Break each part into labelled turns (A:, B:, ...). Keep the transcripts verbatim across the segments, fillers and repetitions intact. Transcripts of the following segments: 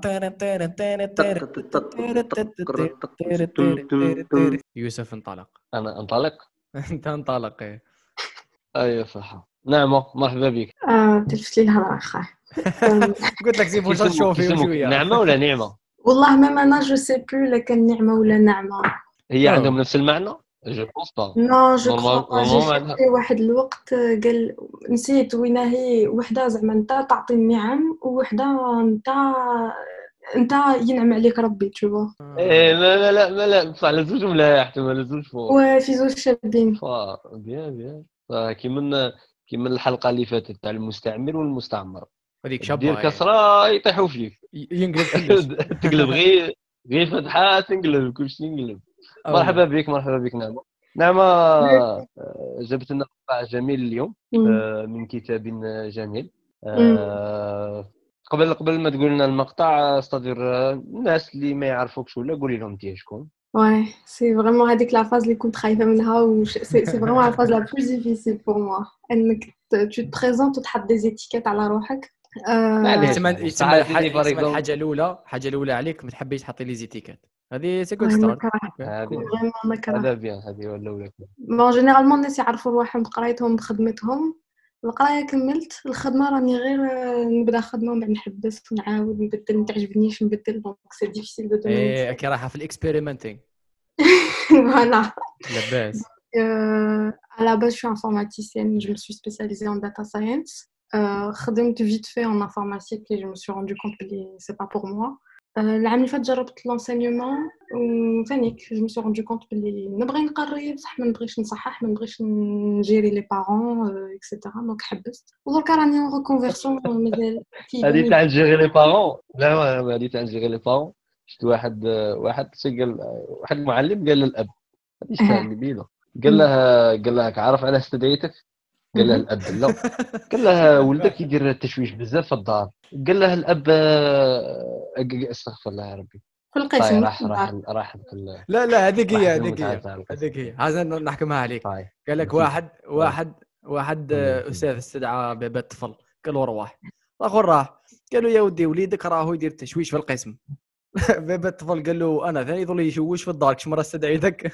A: يوسف انطلق.
B: انا انطلق.
A: انت انطلق. ايه
B: ايوه صح. نعمة مرحبا بك.
C: اه تلفت لي الهضره اخا.
A: قلت لك زيد واش تشوفي شويه.
B: نعمة ولا نعمة؟
C: والله ما انا جو سي بلو لا كان نعمه ولا نعمه.
B: هي عندهم نفس المعنى جو بونس با.
C: نو جو كخوا جي شفتي واحد الوقت قال نسيت وين هي وحده زعما انت تعطي النعم ووحده انت انت ينعم عليك ربي تشوفوا.
B: ايه لا لا لا ما لا بصح على زوج ملاح احتمال زوج فوق
C: وفي زوج شابين
B: فا بيان بيان كيما كيما الحلقه اللي فاتت تاع المستعمر والمستعمر
A: هذيك شابه
B: دير كسره يطيحوا فيك
A: ينقلب كلش
B: تقلب غير غير فتحه تنقلب كلشي ينقلب. مرحبا بك مرحبا بك نعمة. نعمة جبت لنا مقطع جميل اليوم من كتاب جميل. قبل قبل ما تقول لنا المقطع استدير الناس اللي ما يعرفوكش ولا قولي لهم انت شكون.
C: Ouais, c'est vraiment هذيك لا فاز اللي كنت خايفه منها و سي سي فريمون لا فاز لا بلوس ديفيسيل بور موا انك تو بريزونت وتحط دي زيتيكيت على روحك.
A: يسمى يسمى الحاجه الاولى الحاجه الاولى عليك ما تحبيش تحطي لي زيتيكيت هذه سي كود ستارت.
B: هذا بيان هذه الاولى.
C: بون جينيرالمون الناس يعرفوا روحهم بقرايتهم بخدمتهم. القرايه كملت الخدمه راني غير نبدا خدمه ومن نحبس ونعاود نبدل ما تعجبنيش نبدل دونك سي ديفيسيل دو دومين.
A: ايه كي رايحه في الاكسبيريمنتينغ.
C: فوالا
A: لاباس.
C: على باش شو انفورماتيسيان جو سوي سبيسياليزي ان داتا ساينس. خدمت فيت في ان انفورماتيك لي جو مي سوي روندو كونت بلي سي با بور موا. العام اللي فات جربت لونسينيومون وثانيك جو مي سوي روندو كونت بلي نبغي نقري بصح ما نبغيش نصحح ما نبغيش نجيري لي بارون اكسيتيرا دونك حبست ودركا راني اون ريكونفيرسيون مازال
B: هذه تاع نجيري لي بارون. لا هذه تاع نجيري لي بارون شفت واحد واحد قال واحد المعلم قال للاب هذه شفتها اللي بيضه قال له قال لك عارف انا استدعيتك قال له الاب لا قال له ولدك يدير التشويش بزاف في الدار قال له الاب استغفر الله يا ربي
C: في القسم
B: راح راح راح
A: لا لا هذيك هي هذيك هي هذيك هي هذا نحكمها عليك. قال لك واحد واحد واحد استاذ استدعى باب الطفل قال له روح الاخر راح قالوا يا ودي وليدك راهو يدير تشويش في القسم. باب الطفل قال له انا ثاني يظل يشوش في الدار كش مره استدعيتك.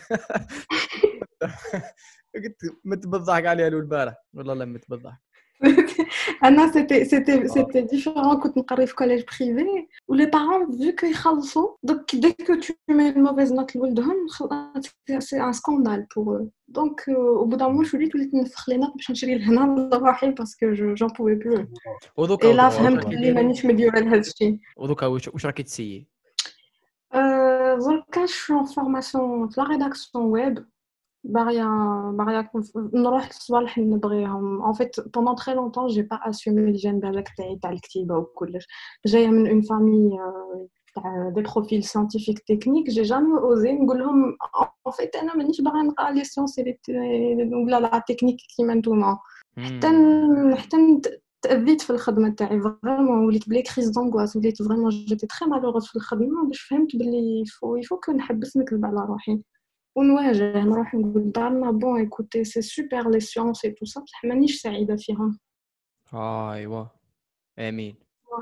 A: قلت متبضحك عليها له البارح والله لا متبضحك.
C: انا سيتي سيتي سيتي ديفيرون كنت نقري في كوليج بريفي ولي بارون فيو كو يخلصوا دونك ديك كو تو مي موفيز نوت لولدهم سي ان سكاندال بور دونك وبدا موش وليت وليت نفخ لي نوت باش نشري لهنا لروحي باسكو جون بوفي بلو ودوكا لا فهمت بلي مانيش مديوره لهذا الشيء.
A: ودوكا واش راكي تسيي؟
C: دركا شو فورماسيون في لا ريداكسيون ويب باغيا باغيا نروح الصوالح اللي نبغيهم ان فيت بوندون تري لونطون جي با اسومي الجانب هذاك تاعي تاع الكتيبه وكلش جايه من اون فامي تاع دي بروفيل ساينتيفيك تكنيك جي جامي اوزي نقول لهم ان فيت انا مانيش باغا نقرا لي سيونس ولا لا تكنيك كيما نتوما حتى حتى تأذيت في الخدمه تاعي فريمون وليت بلي كريز دونغواس وليت فريمون جيتي تري مالوغوز في الخدمه باش فهمت بلي يفو يفو كو نحبس نكذب على روحي ونواجه نروح نقول دارنا بون ايكوتي سي سوبر لي سيونس اي تو سا بصح مانيش سعيده فيهم.
A: ايوا امين.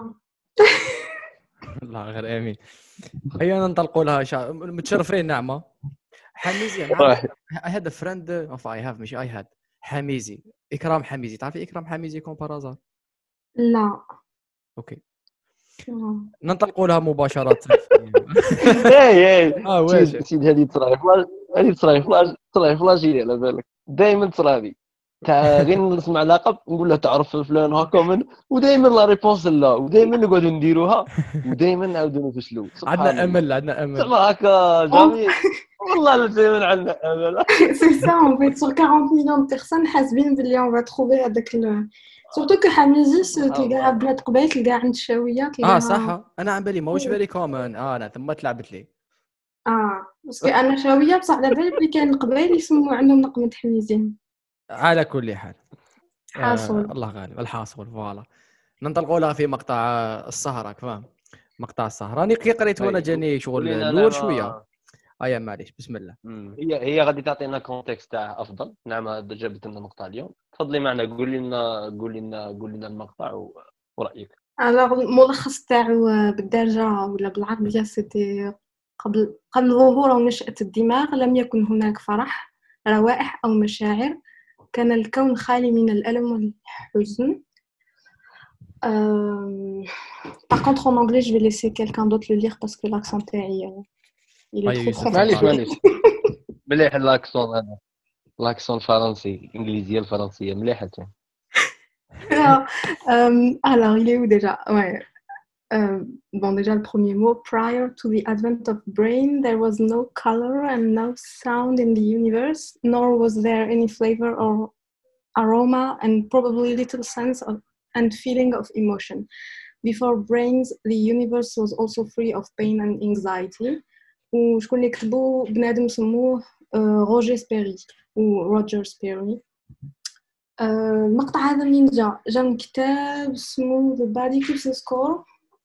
A: الله غير امين. هيا ننطلقوا لها شا... متشرفين نعمه. حميزي انا هذا فريند اوف اي هاف ماشي اي هاد حميزي اكرام حميزي تعرفي اكرام حميزي كوم بارازار؟
C: لا
A: اوكي ننطلقوا لها مباشره.
B: اي اي
A: اه واش
B: سيد هذه تصراي هذه تصراي فلاش تصراي فلاجي على بالك دائما تصراي تاع غير نسمع لقب نقول له تعرف فلان هكا من ودائما لا ريبونس لا ودائما نقعدوا نديروها ودائما نعاودوا نفشلوا.
A: عندنا امل عندنا امل
B: زعما هكا جميل والله لا دائما عندنا امل.
C: سي سا اون فيت سور أربعين مليون بيرسون حاسبين بلي اون فا تروفي هذاك سورتو كو حميزي تلقاها بنات قبيل تلقاها عند الشاويه تلقاها
A: اه صح انا عم بالي ماهوش فيري كومون اه انا ثم تلعبت لي
C: اه باسكو انا شاويه بصح على بالي بلي كاين قبيل يسموا عندهم نقمه حميزين.
A: على كل حال
C: حاصل
A: آه الله غالب الحاصل فوالا. ننطلقوا لها في مقطع السهره فاهم مقطع السهره راني كي قريت وانا جاني شغل لور شويه ايا معليش بسم الله.
B: هي هي غادي تعطينا كونتكست تاع افضل. نعم جابت لنا مقطع اليوم تفضلي معنا قولي لنا قولي لنا قولي لنا المقطع ورايك.
C: alors الملخص تاعو بالدارجة ولا بالعربية c'était قبل قبل ظهور أو نشأة الدماغ لم يكن هناك فرح، روائح أو مشاعر، كان الكون خالي من الألم والحزن. Euh, Par contre, en anglais, je vais laisser quelqu'un d'autre le lire parce que l'accent تاعي il est
A: أيوة
C: trop
A: يوسف
B: معليش
C: français.
A: تفضل.
B: معليش مليح الاكسون هذا الاكسون الفرنسي الانجليزيه الفرنسيه مليحه تاع
C: Euh, alors, il est où déjà? Ouais. Euh, bon, déjà, le premier mot, prior to the advent of brain, there was no color and no sound in the universe, nor was there any flavor or aroma, and probably little sense of and feeling of emotion. Before brains, the universe was also free of pain and anxiety. وشكون اللي كتبو بنادم سموه روجر سبيري و روجر سبيري. المقطع هذا منين جا؟ جا من كتاب اسمه The Body Keeps the Score.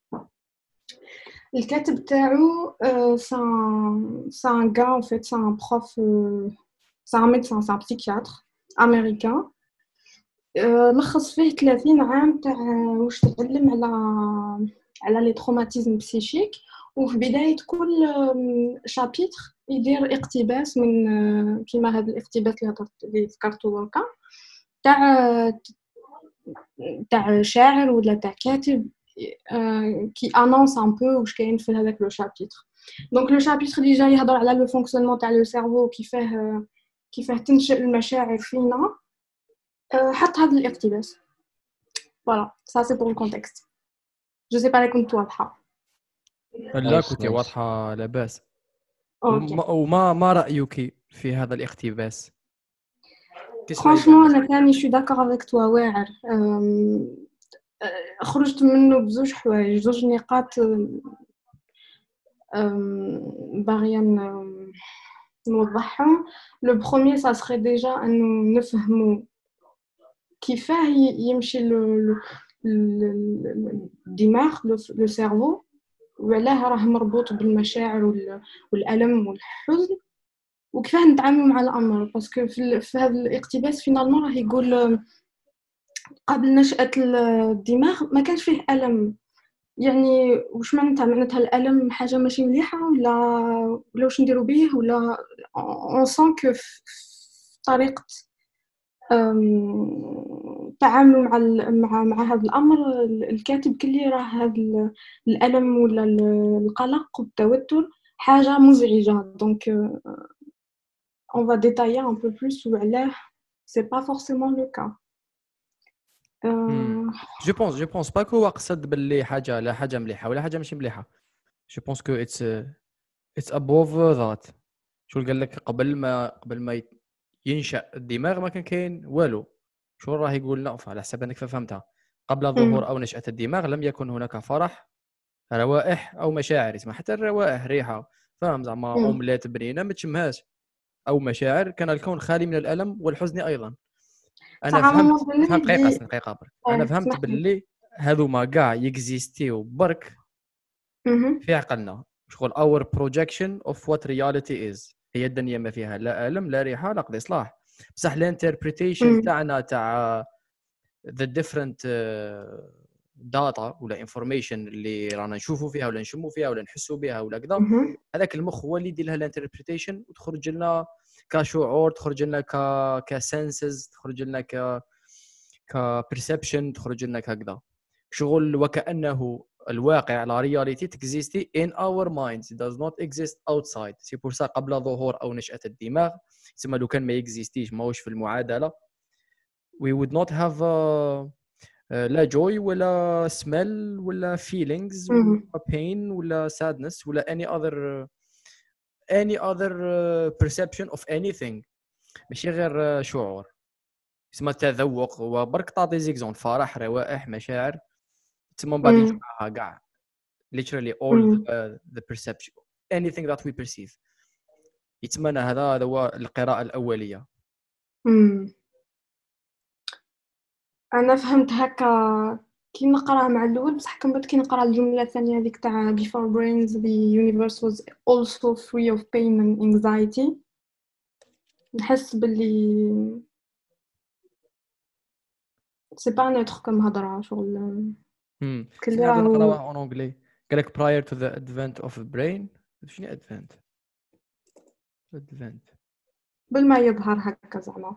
C: الكاتب تاعو c'est un c'est un gars en fait, c'est un prof, c'est un médecin, c'est un psychiatre américain. لخص فيه ثلاثين عام تاع واش تعلم على على لي تروماتيزم بسيشيك، وفي بداية كل شابيتر يدير اقتباس من كيما هذا الاقتباس اللي هضرت اللي ذكرته دركا تاع تاع شاعر ولا تاع كاتب كي انونس ان بو واش كاين في هذاك لو شابيتر. دونك لو شابيتر اللي جاي يهضر على لو فونكسيونمون تاع لو سيرفو كيفاه كيفاه تنشئ المشاعر فينا، حط هذا الاقتباس. فوالا سا سي بور الكونتكست. جو سي با لي كنت واضحه.
A: لا كنتي واضحة لاباس.
C: اوكي
A: وما ما رأيك في هذا الاقتباس؟
C: فرانشمون انا ثاني شو داكور افيك توا واعر. خرجت منه بزوج حوايج، زوج نقاط باغيه نوضحهم. لو بروميير سا سري ديجا انه نفهموا كيفاه يمشي الدماغ لو سيرفو وعلاه راه مربوط بالمشاعر والألم والحزن وكيفاه نتعاملوا مع الأمر. باسكو في هذا الاقتباس فينالمون راه يقول قبل نشأة الدماغ ما كانش فيه ألم. يعني واش معناتها؟ معناتها الألم حاجة ماشي مليحة ولا ولا واش نديروا به؟ ولا اون سون كو طريقة التعامل مع مع مع هذا الامر الكاتب كلي راه هذا الالم ولا القلق والتوتر حاجه مزعجه. دونك on va détailler un peu plus وعلاه c'est pas forcément le cas.
A: جو بونس جو بونس با كو قصد باللي حاجه لا حاجه مليحه ولا حاجه ماشي مليحه. جو بونس كو اتس اتس ابوف ذات. شو قال لك قبل ما قبل ما ينشأ الدماغ ما كان كاين والو. شو راه يقول لنا على حسب انك فهمتها قبل ظهور او نشأة الدماغ لم يكن هناك فرح روائح او مشاعر. اسمها حتى الروائح ريحه فاهم زعما اومليت بنينه ما تشمهاش او مشاعر. كان الكون خالي من الالم والحزن ايضا. انا فهمت فهمت دقيقه دقيقه برك. انا فهمت باللي هذو ما كاع يكزيستيو برك في عقلنا. شغل اور بروجيكشن اوف وات رياليتي از. هي الدنيا ما فيها لا الم لا ريحه لا قضي صلاح. بصح الانتربريتيشن تاعنا تاع the different داتا ولا انفورميشن اللي رانا نشوفوا فيها ولا نشموا فيها ولا نحسوا بها ولا كذا، هذاك المخ هو اللي يدير لها الانتربريتيشن وتخرج لنا كشعور، تخرج لنا ك كسنسز، تخرج لنا ك كبرسبشن، تخرج لنا كذا شغل وكأنه الواقع لا رياليتي تكزيستي in our minds. It does not exist outside. سي بور سا قبل ظهور او نشأة الدماغ تسمى لو كان ما يكزيستيش ماهوش في المعادله we would not have uh, uh, لا joy ولا smell ولا feelings ولا pain ولا sadness ولا any other uh, any other uh, perception of anything. ماشي غير uh, شعور اسمه التذوق. وبرك تعطي زيكزون فرح روائح مشاعر تسمى بعد نجمعها كاع literally all the, the perception anything that we perceive. يتمنى هذا هذا هو القراءة الأولية.
C: امم انا فهمت هكا كي نقرا مع الاول، بصح كنبدا كي نقرا الجمله الثانيه هذيك تاع before brains the universe was also free of pain and anxiety نحس باللي سي با نوتر كم هضره شغل
A: امم
C: اللي
A: هذا
C: راهو
A: نقراوها اون انجلي. قال لك prior to the advent of the brain. شنو advent advent
C: بالما يظهر هكا زعما.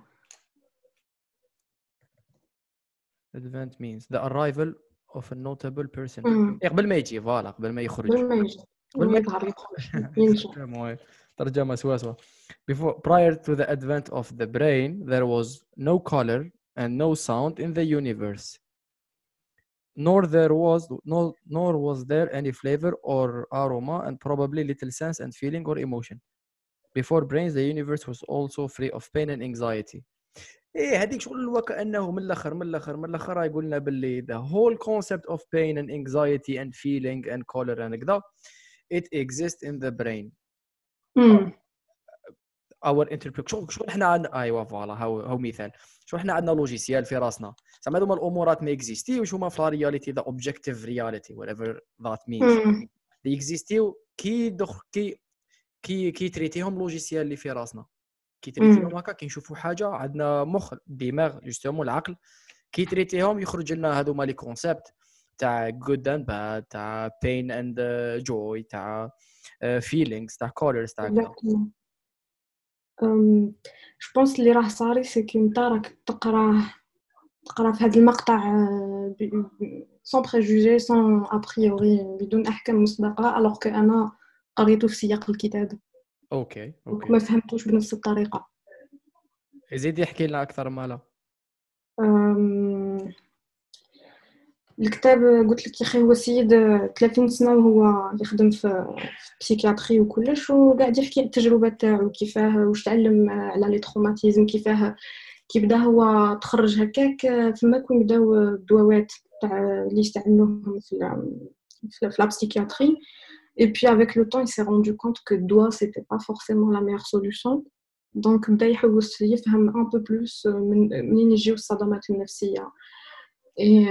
A: advent means the arrival of a notable person.
C: امم
A: إيه قبل ما يجي فوالا قبل ما يخرج
C: بالما يجي
A: قبل ما
C: يظهر يخرج ينشأ.
A: المهم ترجمة سواسوة. Before prior to the advent of the brain there was no color and no sound in the universe. Nor there was no nor was there any flavor or aroma and probably little sense and feeling or emotion. Before brains the universe was also free of pain and anxiety. ايه هذيك شغل وكانه من الاخر من الاخر من الاخر يقول لنا باللي the whole concept of pain and anxiety and feeling and color and كذا it exists in the brain.
C: امم
A: our interpret شو شو احنا عندنا ايوا فوالا هاو هاو مثال شو احنا عندنا لوجيسيال في راسنا زعما هذوما الامورات ما اكزيستيوش هما في رياليتي ذا اوبجيكتيف رياليتي whatever that means
C: امم
A: they اكزيستيو كي دخ كي كي كي تريتيهم لوجيسيال اللي في راسنا كي تريتيهم هكا كي نشوفوا حاجه عندنا مخ دماغ جوستومون العقل كي تريتيهم يخرج لنا هذوما لي كونسيبت تاع good and bad تاع pain and uh, joy تاع uh, feelings تاع colors تاع كذا.
C: أم جو بونس اللي راه صاري سي كي انت راك تقراه تقرا في هذا المقطع سون بريجوجي سون ابريوري بدون احكام مسبقه الوغ كو انا قريته في سياق الكتاب
A: اوكي اوكي
C: ما فهمتوش بنفس الطريقه.
A: زيد يحكي لنا اكثر مالا.
C: أم... الكتاب قلت لك يا اخي هو سيد ثلاثين سنه وهو يخدم في بسيكياتري وكلش وقاعد يحكي على التجربه تاعو كيفاه واش تعلم على لي تروماتيزم كيفاه كي بدا هو تخرج هكاك فما كون بداو الدواوات تاع اللي يستعملوهم في في la psychiatrie et puis avec le temps il s'est rendu compte que doigt c'était pas forcément la meilleure solution donc بدا يحوس يفهم un peu plus من منين يجيو الصدمات النفسيه et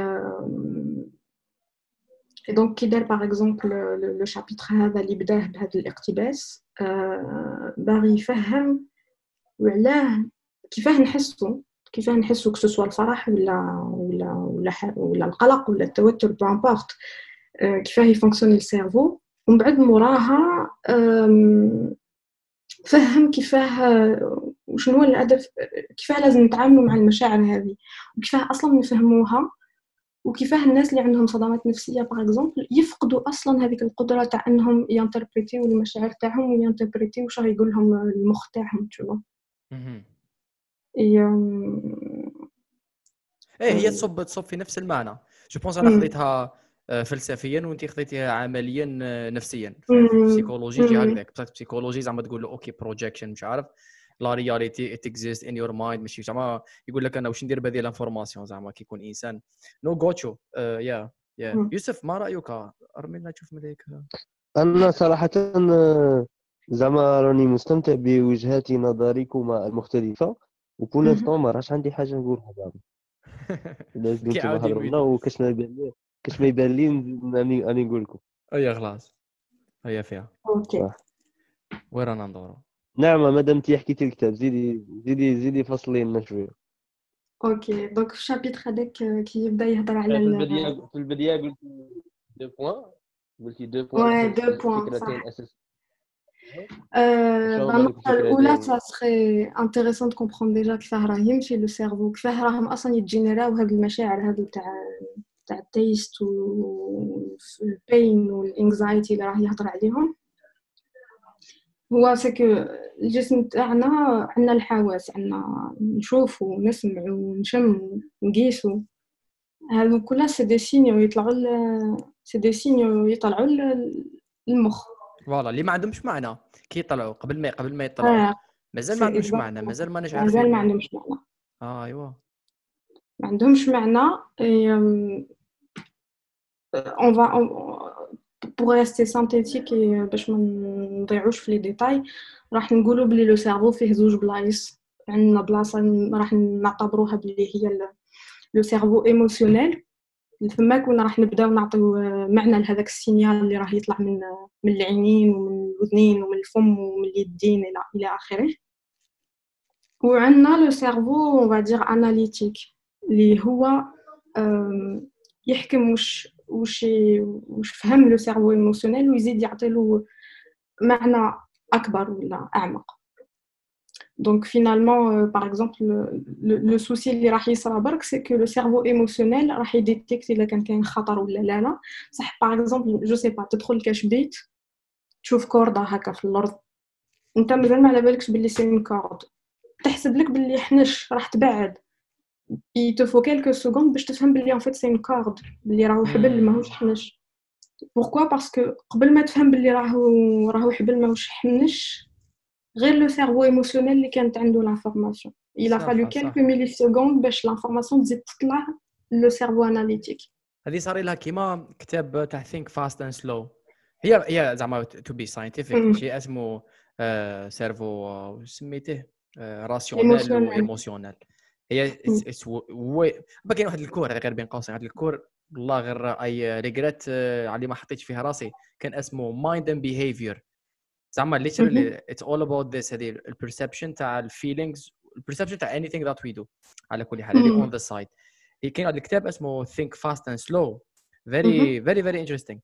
C: et donc كي دار par exemple le chapitre هذا اللي بداه بهذا الاقتباس باغي يفهم وعلاه كيفاه نحسو كيفاه نحسو كو سوا الفرح ولا ولا ولا ولا القلق ولا التوتر بامبورت كيفاه يفونكسيوني السيرفو ومن بعد موراها فهم كيفاه وشنو هو الهدف كيفاه لازم نتعاملوا مع المشاعر هذه وكيفاه اصلا نفهموها وكيفاه الناس اللي عندهم صدمات نفسيه باغ اكزومبل يفقدوا اصلا هذيك القدره تاع انهم ينتربريتيو المشاعر تاعهم وينتربريتيو واش راه يقول لهم المخ تاعهم تشوفوا.
A: ايه هي تصب تصب في نفس المعنى. جو بونس انا خذيتها فلسفيا وانت خذيتيها عمليا نفسيا. بسيكولوجي جي هكذاك بصح بسيكولوجي زعما تقول له اوكي بروجيكشن مش عارف لا رياليتي ات اكزيست ان يور مايند ماشي زعما يقول لك انا واش ندير بهذه الانفورماسيون زعما كي يكون انسان نو غوتشو يا يا يوسف ما رايك ارمينا تشوف مليك.
B: انا صراحه زعما راني مستمتع بوجهات نظركما المختلفه وكل انستون ما راش عندي حاجه نقولها زعما لازم نتوما هضرونا وكاش ما يبان لي كاش ما يبان لي اني اني نقول لكم
A: اي خلاص هي فيها
C: اوكي
A: وين رانا ندورو.
B: نعم مادام تي حكيتي الكتاب زيدي زيدي زيدي فصلي لنا شويه.
C: اوكي دونك في الشابيتر هذاك كي يبدا يهضر على
B: في البدايه في البدايه قلت دو بوين قلتي دو
C: بوين
B: بوين
C: فكرتين
B: اساسيه.
C: النقطة الأولى ça serait intéressant de comprendre déjà كيفاه راه يمشي لو سيرفو كيفاه راهم أصلا يتجينيراو هاد المشاعر هادو تاع تاع التيست والبين والانكزايتي اللي راه يهضر عليهم. هو سكو الجسم تاعنا عندنا الحواس عندنا نشوفو ونسمعو ونشمو ونقيسو هادو كلها سي دي سينيو يطلعوا سي دي سينيو يطلعوا للمخ
A: فوالا اللي ما عندهمش معنى كي يطلعوا قبل ما قبل ما يطلعوا
C: آه.
A: مازال ما عندهمش معنى مازال ما نش عارفين
C: مازال ما عندهمش معنى
A: اه ايوا
C: ما عندهمش معنى on va on, pour rester synthétique باش ما نضيعوش في لي ديتاي راح نقولوا بلي لو سيرفو فيه زوج بلايص عندنا بلاصه راح نعتبروها بلي هي لو سيرفو ايموشنيل فما كنا راح نبداو نعطيو معنى لهذاك السينيال اللي راه يطلع من من العينين ومن الاذنين ومن الفم ومن اليدين الى الى اخره. وعندنا لو سيرفو on va dire analytique اللي هو يحكم واش واش واش فهم لو سيرفو ايموشنيل ويزيد يعطي له معنى اكبر ولا اعمق. Donc finalement, euh, par exemple, le, le, le souci اللي راح يصرى برك c'est que le cerveau émotionnel راح يديتكت إذا كان كاين خطر ولا لا لا. صح par exemple, je sais pas, تدخل كاش بيت تشوف كوردة هكا في الأرض، أنت مازال ما على بالكش باللي سين كورد، تحسب لك باللي حنش راح تبعد، il te faut quelques secondes باش تفهم باللي en fait c'est une corde، باللي راهو حبل ماهوش حنش. Pourquoi? Parce que قبل ما تفهم باللي راهو راهو حبل ماهوش حنش غير لو سيرفو ايموشنيل اللي كانت عنده لانفورماسيون il a fallu quelques millisecondes باش لانفورماسيون تزيد تطلع لو سيرفو اناليتيك.
A: هذه صار لها كيما كتاب تاع think fast and slow، هي هي زعما تو بي ساينتيفيك شيء اسمه سيرفو سميته راسيونيل وايموشنال. هي وي كاين واحد الكور هذا غير بين قوسين، هذا الكور والله غير اي ريغريت على ما حطيتش فيها راسي، كان اسمه مايند اند بيهيفير. زعما literally it's all about this، هذه البرسبشن تاع الفيلينغز، البرسبشن تاع anything that we do على كل حال. هذه on the side. كاين هذا الكتاب اسمه think fast and slow، very very very interesting.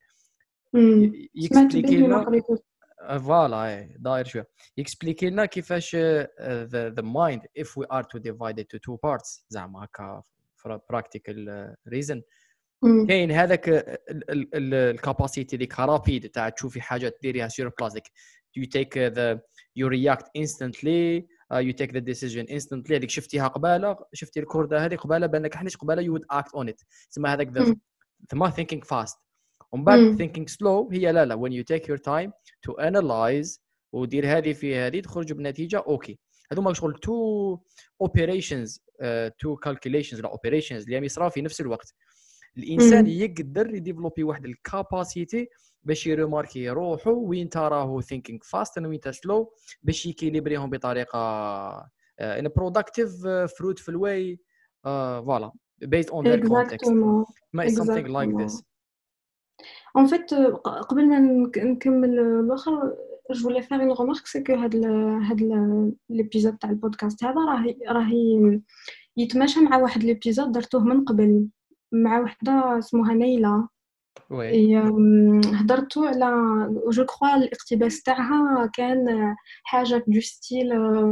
A: يكسبليكي لنا فوالا داير شويه، يكسبليكي لنا كيفاش the the mind if we are to divide it to two parts زعما هكا for a practical reason. كاين هذاك الكاباسيتي ديك رابيد تاع تشوفي حاجه ديريها سور بلاسيك، you take the you react instantly uh, you take the decision instantly. هذيك شفتيها قباله، شفتي الكورده هذه قباله بانك حنيش قباله you would act on it، تسمى هذاك the ثم thinking fast. ومن بعد thinking slow هي لا لا when you take your time to analyze ودير هذه في هذه تخرج بنتيجه اوكي. هذوما شغل two operations uh, two calculations ولا operations اللي يصرا في نفس الوقت. الانسان يقدر يديفلوبي واحد الكاباسيتي باش يرماركي روحه وين تراه thinking fast وين سلو باش يكيليبريهم بطريقه uh, in a productive uh, fruitful way uh, voilà based on their context. ما is something like this.
C: En fait قبل ما نكمل الاخر je voulais faire une remarque c'est que هاد هاد l'épisode تاع البودكاست هذا راه راهي يتماشى مع واحد الابيزود درتوه من قبل مع وحده اسمها نيلة. وي هضرتوا على جو كخوا الاقتباس تاعها كان حاجه دو ستيل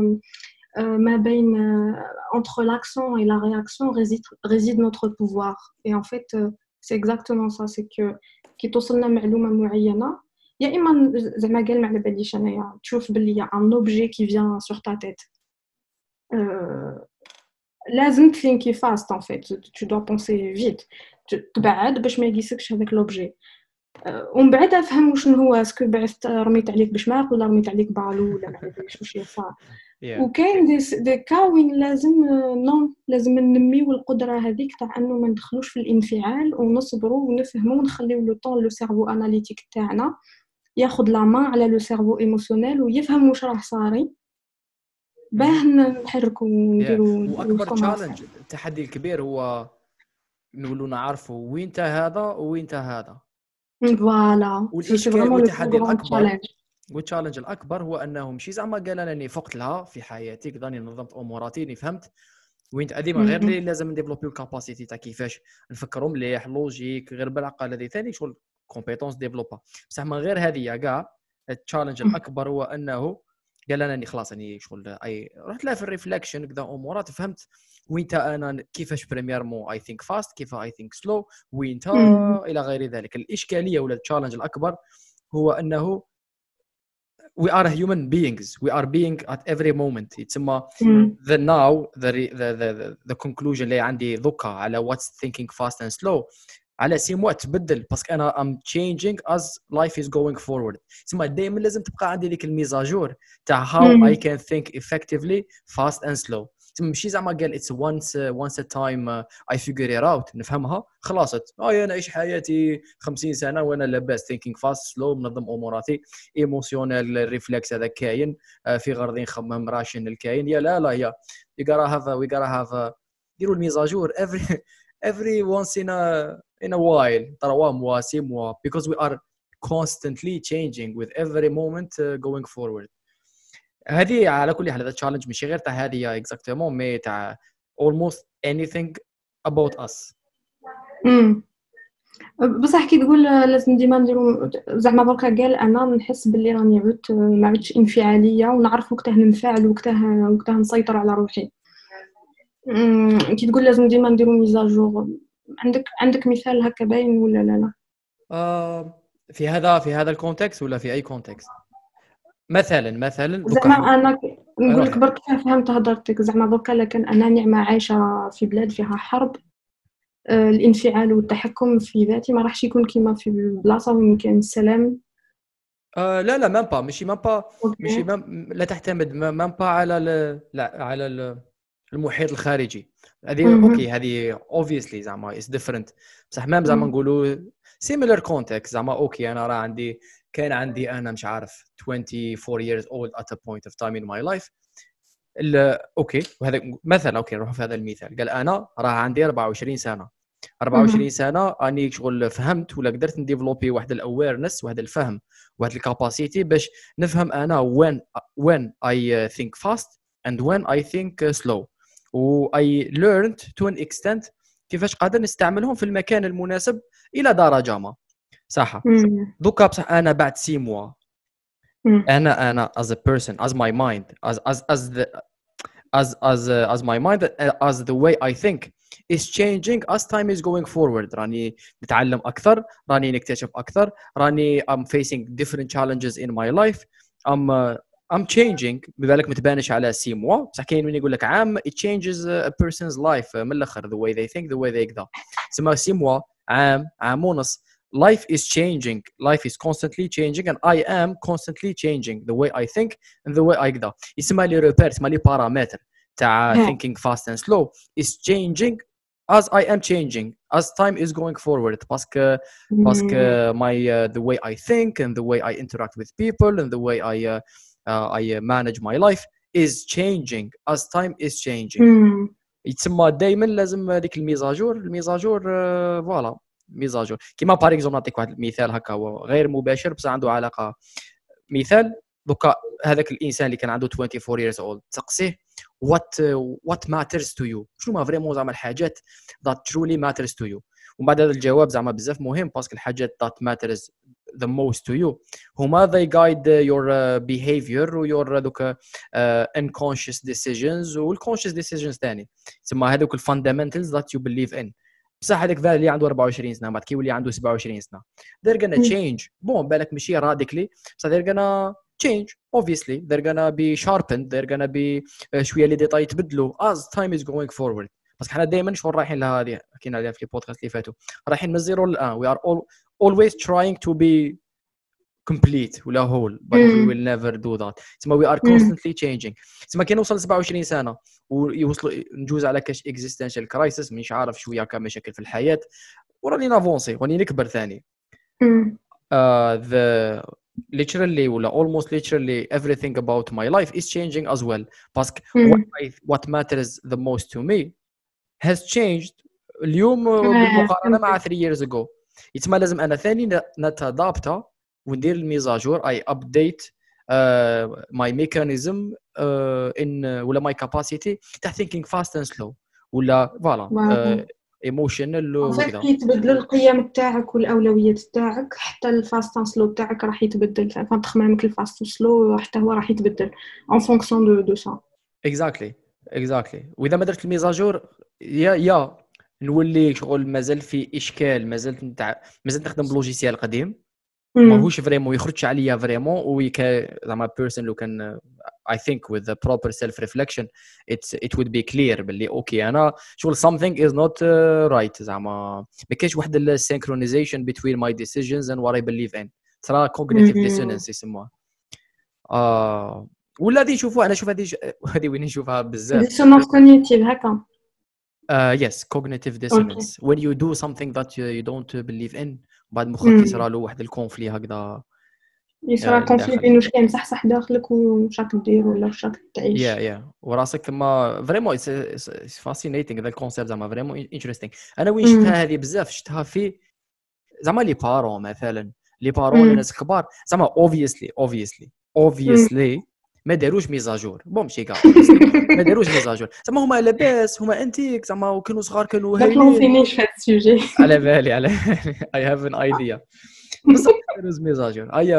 C: ما بين entre l'action et la réaction réside réside notre pouvoir et en fait c'est exactement ça, c'est que كي توصلنا معلومه معينه يا اما زعما قال ما على باليش انايا تشوف باللي ان اوبجي كي فيان سور تا تيت لازم تثينكي فاست ان فيت tu dois penser vite تبعد باش ما يقيسكش هذاك لوبجي ومن بعد افهم واش هو اسكو بعثت رميت عليك بشماغ ولا رميت عليك بالو ولا ما عرفتش واش يصير. وكاين دي دي كاوين لازم نو لازم ننميو القدره هذيك تاع انه ما ندخلوش في الانفعال ونصبروا ونفهموا ونخليو لو طون لو سيرفو اناليتيك تاعنا ياخذ لا مان على لو سيرفو ايموشنيل ويفهم واش راه صاري باه نحركوا ونديروا.
A: واكبر تشالنج التحدي الكبير هو نقولوا نعرفوا وين تا هذا وين تا هذا
C: فوالا.
A: والتحدي الاكبر والتشالنج الاكبر هو انه ماشي زعما قال انا اني فقت لها في حياتي كذا نظمت اموراتي اني فهمت وين تقديما غير اللي لازم نديفلوبي الكاباسيتي تاع كيفاش نفكروا مليح لوجيك غير بالعقل. هذه ثاني شغل كومبيتونس ديفلوبا بصح من غير هذه كاع. التشالنج الاكبر هو انه قال انا اني خلاص اني شغل اي رحت لها في الريفلكشن كذا امورات فهمت وين تا انا كيفاش بريمير مو اي ثينك فاست كيف اي ثينك سلو وين تا الى غير ذلك. الاشكاليه ولا التشالنج الاكبر هو انه we are human beings, we are being at every moment. يتسمى the now the the the, the conclusion اللي عندي ذكا على what's thinking fast and slow على سيمو تبدل باسكو انا I'm changing as life is going forward. تسمى دائما لازم تبقى عندي ديك الميزاجور تاع how I can think effectively fast and slow. ماشي زعما قال it's once uh, once a time uh, I figure it out نفهمها خلاصت اه انا اعيش حياتي خمسين سنه وانا لاباس thinking fast slow منظم اموراتي ايموشنال ريفلكس هذا كاين uh, في غرضي نخمم راشن الكاين يا لا لا يا you gotta have a, we gotta have a ديروا الميزاجور every every once in a in a while ترى موا سي موا because we are constantly changing with every moment uh, going forward. هذه على كل حال هذا تشالنج ماشي غير تاع هذه اكزاكتومون مي تاع almost anything about us.
C: امم بصح كي تقول لازم ديما نديرو زعما بركا قال انا نحس باللي راني عدت ما عدتش انفعاليه ونعرف وقتها ننفعل وقتها وقتها نسيطر على روحي. أمم، كي تقول لازم ديما نديرو ميزاجور، عندك عندك مثال هكا باين ولا لا لا؟
A: آه في هذا في هذا الكونتكست ولا في اي كونتكست؟ مثلا مثلا
C: زعما
A: دوكا
C: انا نقول لك
A: روح.
C: برك فهمت هضرتك. زعما بركا لكن انا نعمه عايشه في بلاد فيها حرب، آه، الانفعال والتحكم في ذاتي ما راحش يكون كيما في بلاصه وين كاين السلام.
A: آه لا لا مام با ماشي مام با ماشي
C: اوكي.
A: مام لا تعتمد مام با على ال... لا على ال... المحيط الخارجي. هذه
C: مهم.
A: اوكي هذه obviously زعما is different بصح مام زعما
C: مم.
A: نقولوا similar context زعما اوكي انا راه عندي كان عندي انا مش عارف twenty-four years old at a point of time in my life ال... اوكي وهذا مثلا اوكي نروح في هذا المثال قال انا راه عندي أربعة وعشرين سنه أربعة وعشرين
C: مهم.
A: سنه اني شغل فهمت ولا قدرت نديفلوبي واحد الاويرنس واحد الفهم واحد الكاباسيتي باش نفهم انا when when I think fast and when I think slow و I learned to an extent كيفاش قادر نستعملهم في المكان المناسب الى درجه ما صح.
C: مم.
A: دوكا بصح انا بعد سي موا
C: مم.
A: انا انا as a person as my mind as as as the as as uh, as my mind uh, as the way I think is changing as time is going forward. راني نتعلم اكثر راني نكتشف اكثر راني I'm facing different challenges in my life I'm uh, I'm changing بذلك متبانش على سي موا بصح كاين من يقول لك عام it changes a person's life من الاخر the way they think the way they كذا تسمى سي موا عام عام ونص life is changing life is constantly changing and I am constantly changing the way I think and the way I كذا يسمى لي ريبير يسمى لي بارامتر تاع
C: ها.
A: thinking fast and slow is changing as I am changing as time is going forward باسكو باسكو
C: مم.
A: my uh, the way I think and the way I interact with people and the way I uh, uh, I uh, manage my life is changing as time is changing.
C: مم.
A: يتسمى دائما لازم هذيك الميزاجور الميزاجور فوالا ميزاجور كيما باغ اكزومبل نعطيك واحد المثال هكا هو غير مباشر بس عنده علاقه. مثال دوكا هذاك الانسان اللي كان عنده twenty-four years old تسقسيه what what matters to you شنو ما فريمون زعما الحاجات that truly matters to you ومن بعد هذا الجواب زعما بزاف مهم باسكو الحاجات that matters the most to you هما they guide your uh, behavior و your دوكا uh, unconscious decisions و conscious decisions ثاني تسمى هذوك الفاندامنتالز that you believe in. بصح هذاك ذا اللي عنده أربعة وعشرين سنه بعد كيولي عنده سبعة وعشرين سنه they're gonna change بون بالك ماشي راديكلي بصح they're gonna change obviously they're gonna be sharpened they're gonna be uh, شويه لي ديتاي يتبدلوا as time is going forward باسكو حنا دائما شغل رايحين لها هذه حكينا عليها في البودكاست اللي فاتوا رايحين من الزيرو للان we are all always trying to be complete ولا whole but we will never do that تسمى we are constantly changing تسمى كي نوصل سبعة وعشرين سنه ويوصلوا نجوز على كاش existential crisis مش عارف شويه كمشاكل في الحياه وراني نافونسي وراني نكبر ثاني uh, the literally ولا almost literally everything about my life is changing as well باسكو what, I, what matters the most to me has changed اليوم بالمقارنه مع three years ago يتما لازم انا ثاني نتادابتا وندير الميزاجور اي ابديت my mechanism uh, in uh, ولا my capacity تاع thinking fast and slow ولا فوالا ايموشنال
C: وكذا يتبدلوا القيم تاعك والاولويات تاعك حتى الفاست اند سلو تاعك راح يتبدل فتخممك الفاست سلو حتى هو راح يتبدل en fonction de de ça
A: exactly exactly واذا ما درت الميزاجور يا يا نولي شغل مازال في اشكال مازال نتاع مازال نخدم بلوجيسيال قديم ماهوش فريمون يخرج عليا فريمون ويكا زعما بيرسون لو كان I think with the proper self reflection it's it would be clear باللي اوكي انا شغل something is not uh, right زعما ما كاينش واحد ال synchronization between my decisions and what I believe in ترى cognitive dissonance يسموها آه ولا دي نشوفوها انا شوف هذه هذه وين نشوفها بزاف
C: dissonance cognitive هكا
A: uh, yes cognitive dissonance okay. when you do something that you, you don't believe in بعد مخك يصرى له واحد الكونفلي هكذا
C: يصرى كونفلي بين واش كاين صح صح داخلك واش راك دير ولا واش راك تعيش
A: يا يا وراسك ما فريمون اتس فاسينيتينغ هذا الكونسيبت زعما فريمون انتريستينغ. انا وين شفتها هذه بزاف شفتها في زعما لي بارون مثلا لي بارون الناس الكبار زعما اوبفيسلي اوبفيسلي اوبفيسلي ما داروش ميزاجور بون ماشي كاع ما داروش ميزاجور زعما هما لاباس هما انتيك زعما وكانوا صغار كانوا
C: ما
A: هايلين
C: تلونسينيش في هذا السوجي.
A: على بالي على اي هاف ان ايديا بصح ما داروش ميزاجور اي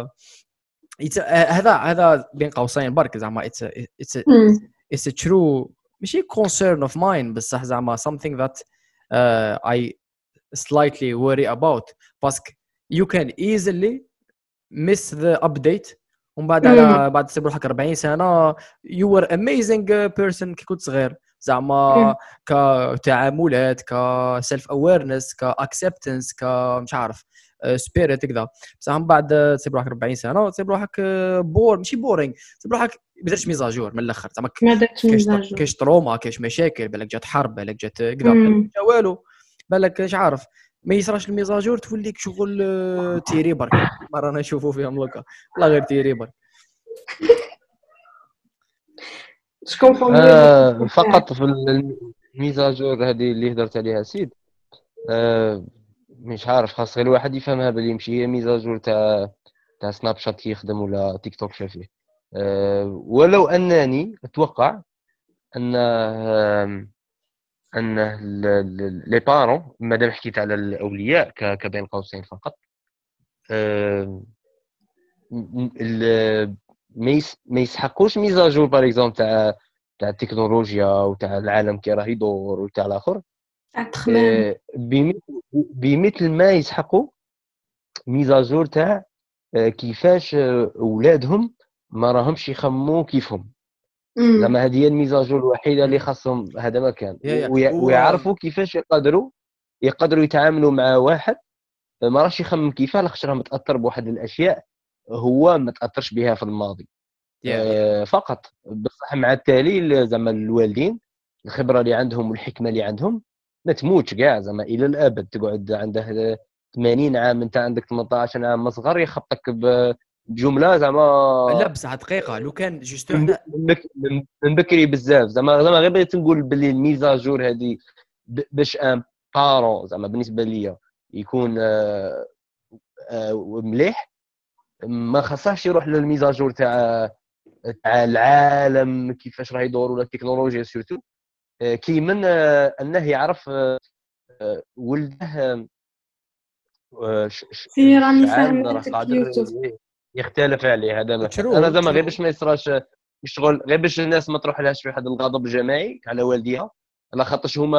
A: هذا هذا بين قوسين برك زعما اتس اتس اتس ترو ماشي concern of mine بصح زعما something that uh, I slightly worry about باسكو you can easily miss the update ومن بعد على بعد تصير روحك أربعين سنه you were amazing person كي كنت صغير زعما كتعاملات ك self awareness ك acceptance ك مش عارف سبيريت كذا بصح من بعد تصير روحك أربعين سنه وتصير روحك بور ماشي بورينغ تصير روحك ما درتش ميزاجور من الاخر زعما كاش تروما كاش مشاكل بالك جات حرب بالك جات كذا جا والو بالك مش عارف ما يصراش الميزاجور توليك شغل تيري برك مره انا نشوفوا فيهم لوكا والله غير تيري برك
B: آه فقط في الميزاجور هذه اللي هضرت عليها سيد آه مش عارف خاص غير الواحد يفهمها بلي ماشي هي ميزاجور تاع تاع سناب شات كيخدم ولا تيك توك شافيه أه ولو انني اتوقع ان أه ان لي بارون مادام حكيت على الاولياء كبين قوسين فقط أه ما يسحقوش ميزاجور باغ اكزومبل تاع تاع التكنولوجيا وتاع العالم كي راه يدور وتاع الاخر أه بمثل ما يسحقوا ميزاجور تاع كيفاش اولادهم ما راهمش يخمموا كيفهم زعما هذه هي الميزاجور الوحيده اللي خاصهم هذا ما كان ويعرفوا كيفاش يقدروا يقدروا يتعاملوا مع واحد ما راهش يخمم كيفاه لاخاطش راه متاثر بواحد الاشياء هو ما تاثرش بها في الماضي آه فقط بصح مع التالي زعما الوالدين الخبره اللي عندهم والحكمه اللي عندهم ما تموتش كاع زعما الى الابد تقعد عنده ثمانين عام انت عندك ثمانية عشر عام صغار يخبطك بجمله زعما
A: لا بصح دقيقه لو كان جوست هنا
B: من بكري بزاف زعما زعما غير بغيت نقول باللي الميزاجور هذه باش ان بارون زعما بالنسبه ليا يكون آآ آآ مليح ما خصهاش يروح للميزاجور تاع تاع العالم كيفاش راه يدور ولا التكنولوجيا سورتو كي من انه يعرف ولده
C: سي راني فاهمتك يوسف
B: يختلف عليه هذا مثلا انا زعما غير باش ما يصراش الشغل غير باش الناس ما تروح لهاش في واحد الغضب الجماعي على والديها على خاطرش هما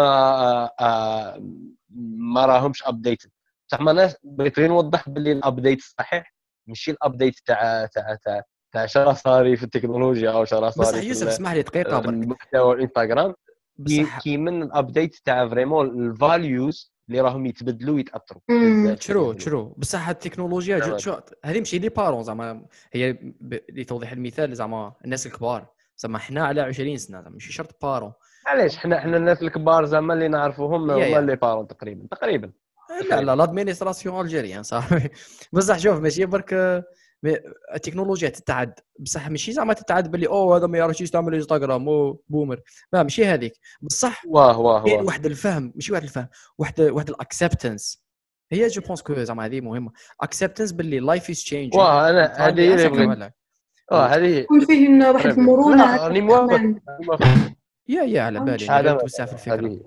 B: ما راهمش ابديت بصح ما ناس بغيت غير نوضح باللي الابديت الصحيح ماشي الابديت تاع تاع تاع تاع شرا صاري في التكنولوجيا او شرا صاري
A: بصح يوسف اسمح لي دقيقه برك
B: المحتوى الانستغرام كي من الابديت تاع فريمون الفاليوز اللي راهم يتبدلوا ويتاثروا
A: تشرو تشرو بصح التكنولوجيا هذه ماشي لي بارون زعما هي لتوضيح المثال زعما الناس الكبار زعما حنا على عشرين سنه زعما ماشي شرط بارون
B: علاش حنا حنا الناس الكبار زعما اللي نعرفوهم هما لي بارون تقريبا تقريبا
A: لا لا لادمينستراسيون الجيريان صافي بصح شوف ماشي برك التكنولوجيا تتعد بصح ماشي زعما تتعد باللي او هذا ما يعرفش يستعمل انستغرام او بومر لا ماشي هذيك بصح
B: واه واه واه
A: واحد الفهم ماشي واحد الفهم واحد واحد الاكسبتنس هي جو بونس كو زعما هذه مهمه اكسبتنس باللي لايف از تشينج
B: واه انا هذه اللي بغيت اه هذه
C: يكون فيه واحد المرونه
B: راني موافق
A: يا يا على بالي غير توسع في الفكره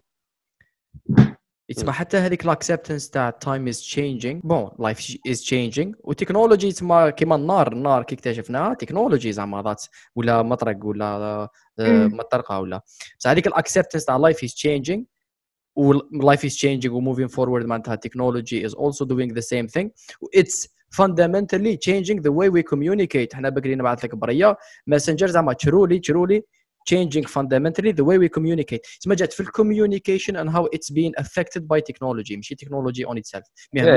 A: يتسمى حتى هذيك الاكسبتنس تاع تايم از تشينجينغ بون لايف از تشينجينغ وتكنولوجي يتسمى كيما النار النار كي اكتشفناها تكنولوجي زعما ذات ولا مطرق ولا مطرقه ولا بصح هذيك الاكسبتنس تاع لايف از تشينجينغ ولايف از تشينجينغ وموفين فورورد معناتها تكنولوجي از اولسو دوينغ ذا سيم ثينغ اتس fundamentally changing the way we communicate حنا بقري نبعث لك بريه ماسنجر زعما تشرولي تشرولي changing fundamentally the way we communicate. اسمها جات في الcommunication and how it's being affected by technology ماشي technology on itself.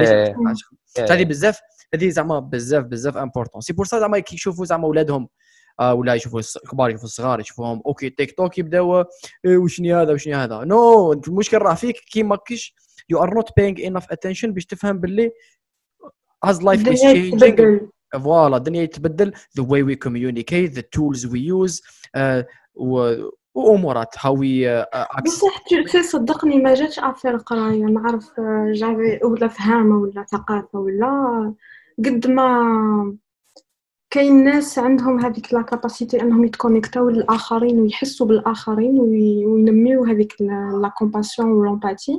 A: هذه بزاف هذه زعما بزاف بزاف important. سي بور سا زعما كي يشوفوا زعما اولادهم آه ولا يشوفوا الكبار يشوفوا الصغار يشوفوهم اوكي تيك توك يبداو إيه وشني هذا وشني هذا نو no. المشكل راه فيك كي ماكش you are not paying enough attention باش تفهم باللي as life is changing فوالا الدنيا يتبدل the way we communicate the tools we use uh, وامورات هاوي
C: بصح تي صدقني ما جاتش افير قرايه نعرف جافي ولا فهامه ولا ثقافه ولا قد ما كاين ناس عندهم هذيك لا كاباسيتي انهم يتكونيكتاو للاخرين ويحسوا بالاخرين وينميو هذيك لا كومباسيون والامباتي.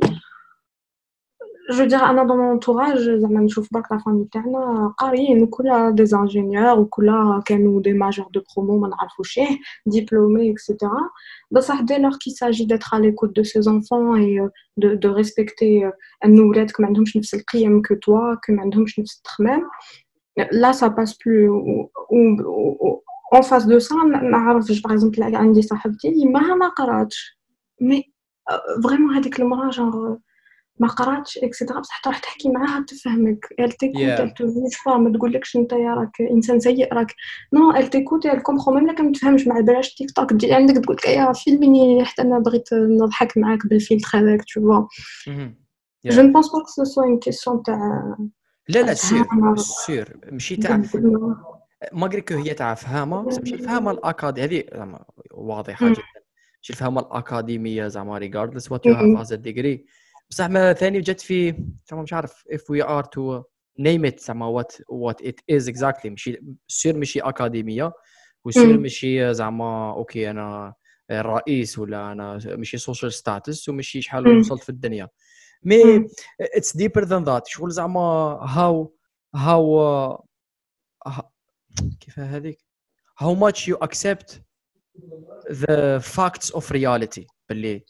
C: جو دير انا دون مونطوراج زعما نشوف برك لا فامي تاعنا قاريين وكلها دي انجينيور وكلها كانوا دي ماجور دو برومو ما نعرفوش ايه ديبلومي اكسيتيرا. بصح دي لور كي ساجي ديتر على ليكوت دو سي زونفون اي دو دو ريسبكتي ان ولادك ما عندهمش نفس القيم كو توا كو ما عندهمش نفس التخمام. Là, ça passe plus. Ou, ou, en face de ça, نعرف par exemple عندي صاحبتي ما ما قراتش مي فريمون هذيك المراه جونغ ما قراتش اكسيتيرا بصح تروح تحكي معاها تفهمك. elle t'écoute elle te juge pas ما تقولكش انت يا راك انسان سيء راك نو elle t'écoute elle comprend même لك ما تفهمش مع بلاش تيك توك تجي عندك تقول لك يا فيلميني حتى انا بغيت نضحك معاك بالفيلتر هذاك tu vois. je ne pense pas que ce soit une question تاع
A: لا لا سير سير ماشي تاع ماغري كو هي تاع فهامه ماشي الفهامه الاكاديميه هذه زعما واضحه جدا ماشي الفهامه الاكاديميه زعما regardless what you have as a degree بصح ما ثاني جات في زعما مش عارف if we are to name it زعما what what it is exactly ماشي سير ماشي اكاديميه وسير ماشي زعما اوكي انا الرئيس ولا انا ماشي سوشيال ستاتس وماشي شحال وصلت في الدنيا مي it's deeper than that شغل زعما how how uh, كيف هذيك how much you accept the facts of reality باللي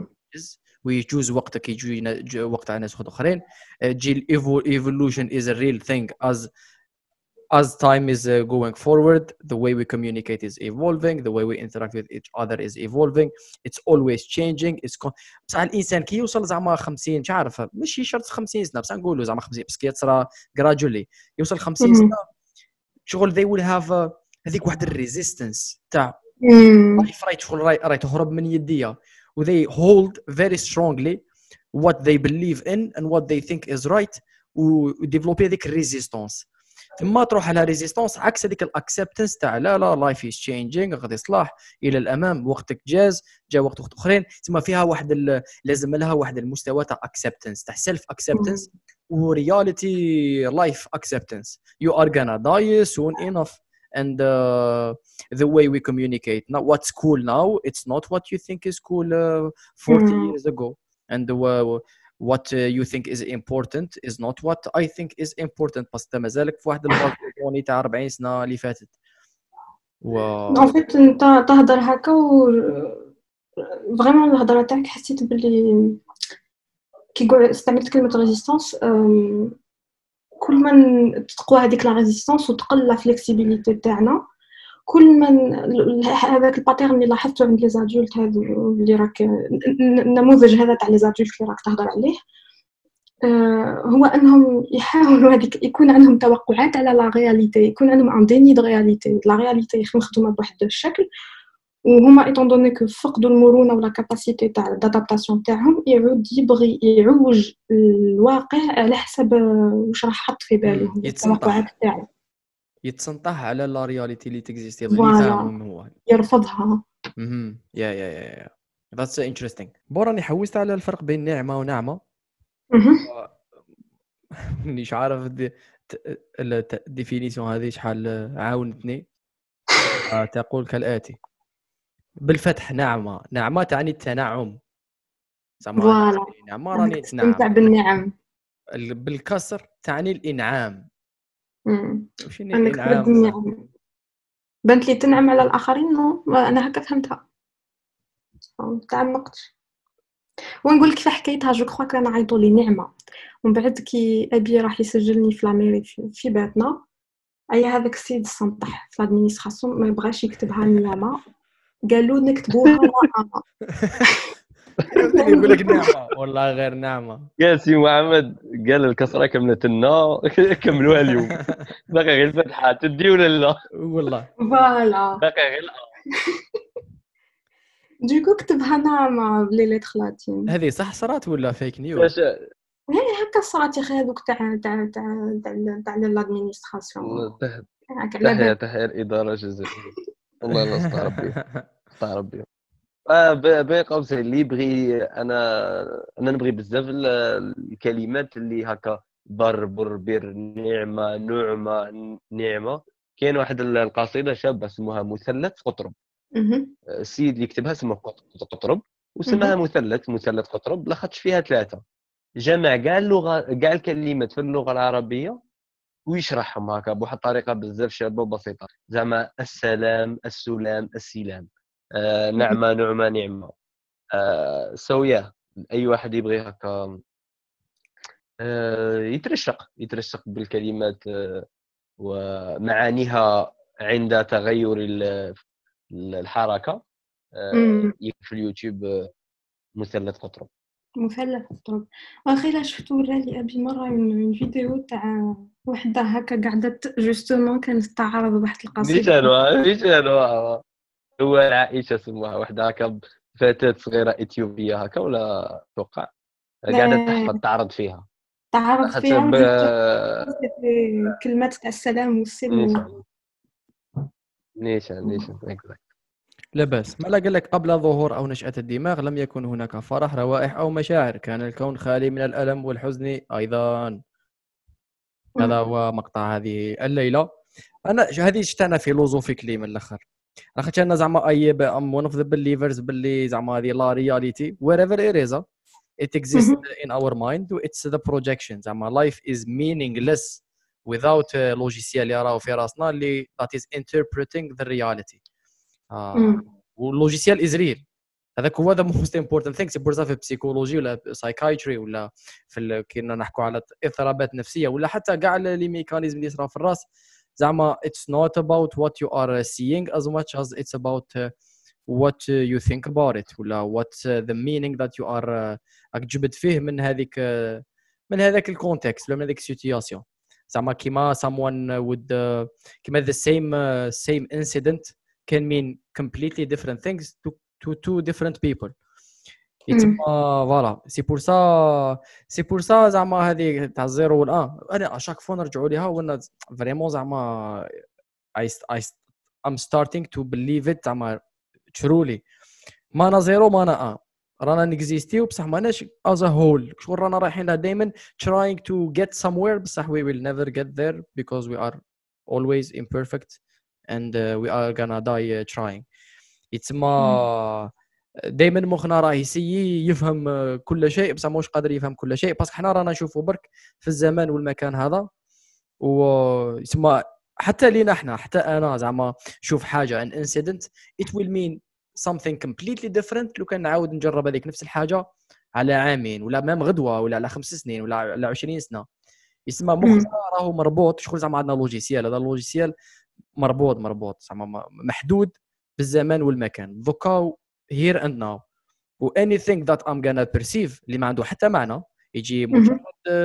A: ويجوز وقتك يجي وقت على ناس اخرين تجي evolution is a real thing as as time is uh, going forward the way we communicate is evolving the way we interact with each other is evolving it's always changing it's con- بصح الانسان كي يوصل زعما خمسين مش عارف ماشي شرط خمسين سنه بصح نقولوا زعما خمسين بس كي تصرى gradually يوصل خمسين سنه شغل they will have uh, هذيك واحد الريزيستنس تاع لايف رايت شغل راي تهرب من يديا و they hold very strongly what they believe in and what they think is right و develop هذيك الريزيستنس ثم تروح على ريزيستنس عكس هذيك الاكسبتنس تاع لا لا لايف از تشينجينغ غادي يصلح الى الامام وقتك جاز جا وقت وقت اخرين ثم فيها واحد لازم لها واحد المستوى تاع اكسبتنس تاع سيلف اكسبتنس ورياليتي لايف اكسبتنس you are gonna die soon enough and uh, the way we communicate now what's cool now it's not what you think is cool uh, forty mm. years ago and uh, what uh, you think is important is not what I think is important بس مازالك في واحد البالكوني تاع أربعين سنه اللي فاتت و
C: ان فيت انت تهضر هكا و فريمون الهضره تاعك حسيت باللي كي استعملت كلمه ريزيستانس كل ما تقوى هذيك لا ريزيستانس وتقل لا فليكسيبيليتي تاعنا كل ما هذاك الباترن اللي لاحظته عند لي زادولت هذو اللي راك النموذج هذا تاع لي زادولت اللي راك تهضر عليه هو انهم يحاولوا هذيك يكون عندهم توقعات على لا رياليتي يكون عندهم ان ديني دو رياليتي لا رياليتي مخدومه بواحد الشكل وهما ايطون دوني كو فقدوا المرونه ولا كاباسيتي تاع الادابتاسيون تاعهم يعود يبغي يعوج الواقع على حسب واش راح حط في باله التوقعات تاعو
A: يتسنطح على لا رياليتي اللي تكزيستي اللي فاهم هو
C: يرفضها
A: اها يا يا يا ذاتس انتريستينغ بوراني حوست على الفرق بين نعمه ونعمه
C: اها
A: مانيش عارف الديفينيسيون هذه شحال عاونتني تقول كالاتي بالفتح نعمه نعمه تعني التنعم
C: زعما
A: نعمه راني
C: تستمتع بالنعم
A: بالكسر تعني الانعام
C: امم انك ترد النعم بنت لي تنعم على الاخرين نو انا هكا فهمتها تعمقت ونقول كيف حكيتها جو كخوا كان عيطوا لي نعمه ومن بعد كي ابي راح يسجلني في لاميري في باتنا اي هذاك السيد السنطح في لادمينستراسيون ما بغاش يكتبها نعمه قالوا نكتبوها نعمه
A: يقول لك نعمه والله غير نعمه
B: قال سي محمد قال الكسره كملت لنا كملوها اليوم باقي غير الفتحه تدي ولا لا
A: والله
C: فوالا
B: باقي غير
C: ديكو كتبها نعمه بلي ليتر لاتين
A: هذه صح صرات ولا فيك نيوز
C: هي هكا صرات يا اخي هذوك تاع تاع تاع تاع لادمينستراسيون
B: تحية تحية الإدارة الجزائرية والله لا استغرب استغرب بهم اه باقي قوسين اللي يبغي انا انا نبغي بزاف الكلمات اللي هكا بر بر بر نعمه نعمه نعمه كاين واحد القصيده شابه اسمها مثلث قطرب. السيد اللي كتبها اسمه قطرب وسماها مثلث مثلث قطرب لاخاطش فيها ثلاثه، جمع كاع اللغه كاع الكلمات في اللغه العربيه ويشرحهم هكا بواحد الطريقه بزاف شابه وبسيطه، زعما السلام السلام السلام آه نعمه نعمه نعمه آه سويا. اي واحد يبغي هكا آه يترشق يترشق بالكلمات آه ومعانيها عند تغير الحركه آه في اليوتيوب آه مثلث قطرب.
C: مثلث قطرب واخي لا شفت ورالي ابي مره من فيديو تاع وحده هكا قاعده جوستومون كانت تعرض واحد القصيده
B: نيشانوا نيشانوا هو عائشه سموها وحده هكا فتاه صغيره اثيوبيه هكا ولا توقع قاعده تحفظ تعرض فيها
C: تعرض فيها
B: ب...
C: كلمات تاع السلام والسلم.
B: نيشان نيشان
A: لا بأس. ما لا قال لك قبل ظهور أو نشأة الدماغ لم يكن هناك فرح روائح أو مشاعر، كان الكون خالي من الألم والحزن أيضا. هذا هو مقطع هذه الليلة. أنا هذه شتانا فيلوزوفيكلي من الآخر، لاخاطش أنا زعما أي ام ون اوف ذا بليفرز باللي زعما هذه لا رياليتي wherever it is it exists in our mind it's the projection. زعما life is meaningless without لوجيسيال يراو في راسنا اللي that is interpreting the reality. آه. واللوجيسيال از ريل، هذاك هو ذا موست امبورتانت ثينك. سي بور في البسيكولوجي ولا سايكايتري ولا في كنا نحكوا على اضطرابات نفسيه ولا حتى كاع لي ميكانيزم اللي صرا في الراس. زعما it's not about what you are seeing as much as it's about uh, what you think about it ولا what uh, the meaning that you are uh, جبت فيه من هذيك uh, من هذاك الكونتكست ولا من هذيك السيتوياسيون. زعما كيما someone would uh, كيما the same uh, same incident can mean completely different things to to two different people. يتما فوالا سي بور سا سي بور سا زعما هذه تاع الزيرو والان انا اشاك فوا نرجعوا ليها وانا فريمون زعما I I I'm starting to believe it زعما truly. ما انا زيرو ما انا ان رانا نكزيستيو بصح ماناش as a whole. شغل رانا رايحين لها دائما trying to get somewhere بصح we will never get there because we are always imperfect and uh, we are gonna die uh, trying. يتسمى دائما مخنا راه يسيي يفهم كل شيء بصح ماهوش قادر يفهم كل شيء باسكو حنا رانا نشوفوا برك في الزمان والمكان هذا. ويتسمى حتى لينا حنا حتى انا زعما شوف حاجه ان انسيدنت it will mean something completely different لو كان نعاود نجرب هذيك نفس الحاجه على عامين ولا مام غدوه ولا على خمس سنين ولا على عشرين سنه. يسمى مخنا راهو مربوط. شغل زعما عندنا لوجيسيال، هذا اللوجيسيال مربوط مربوط زعما محدود بالزمان والمكان. دوكا here and now و anything that I'm gonna perceive اللي ما عنده حتى معنى يجي مجرد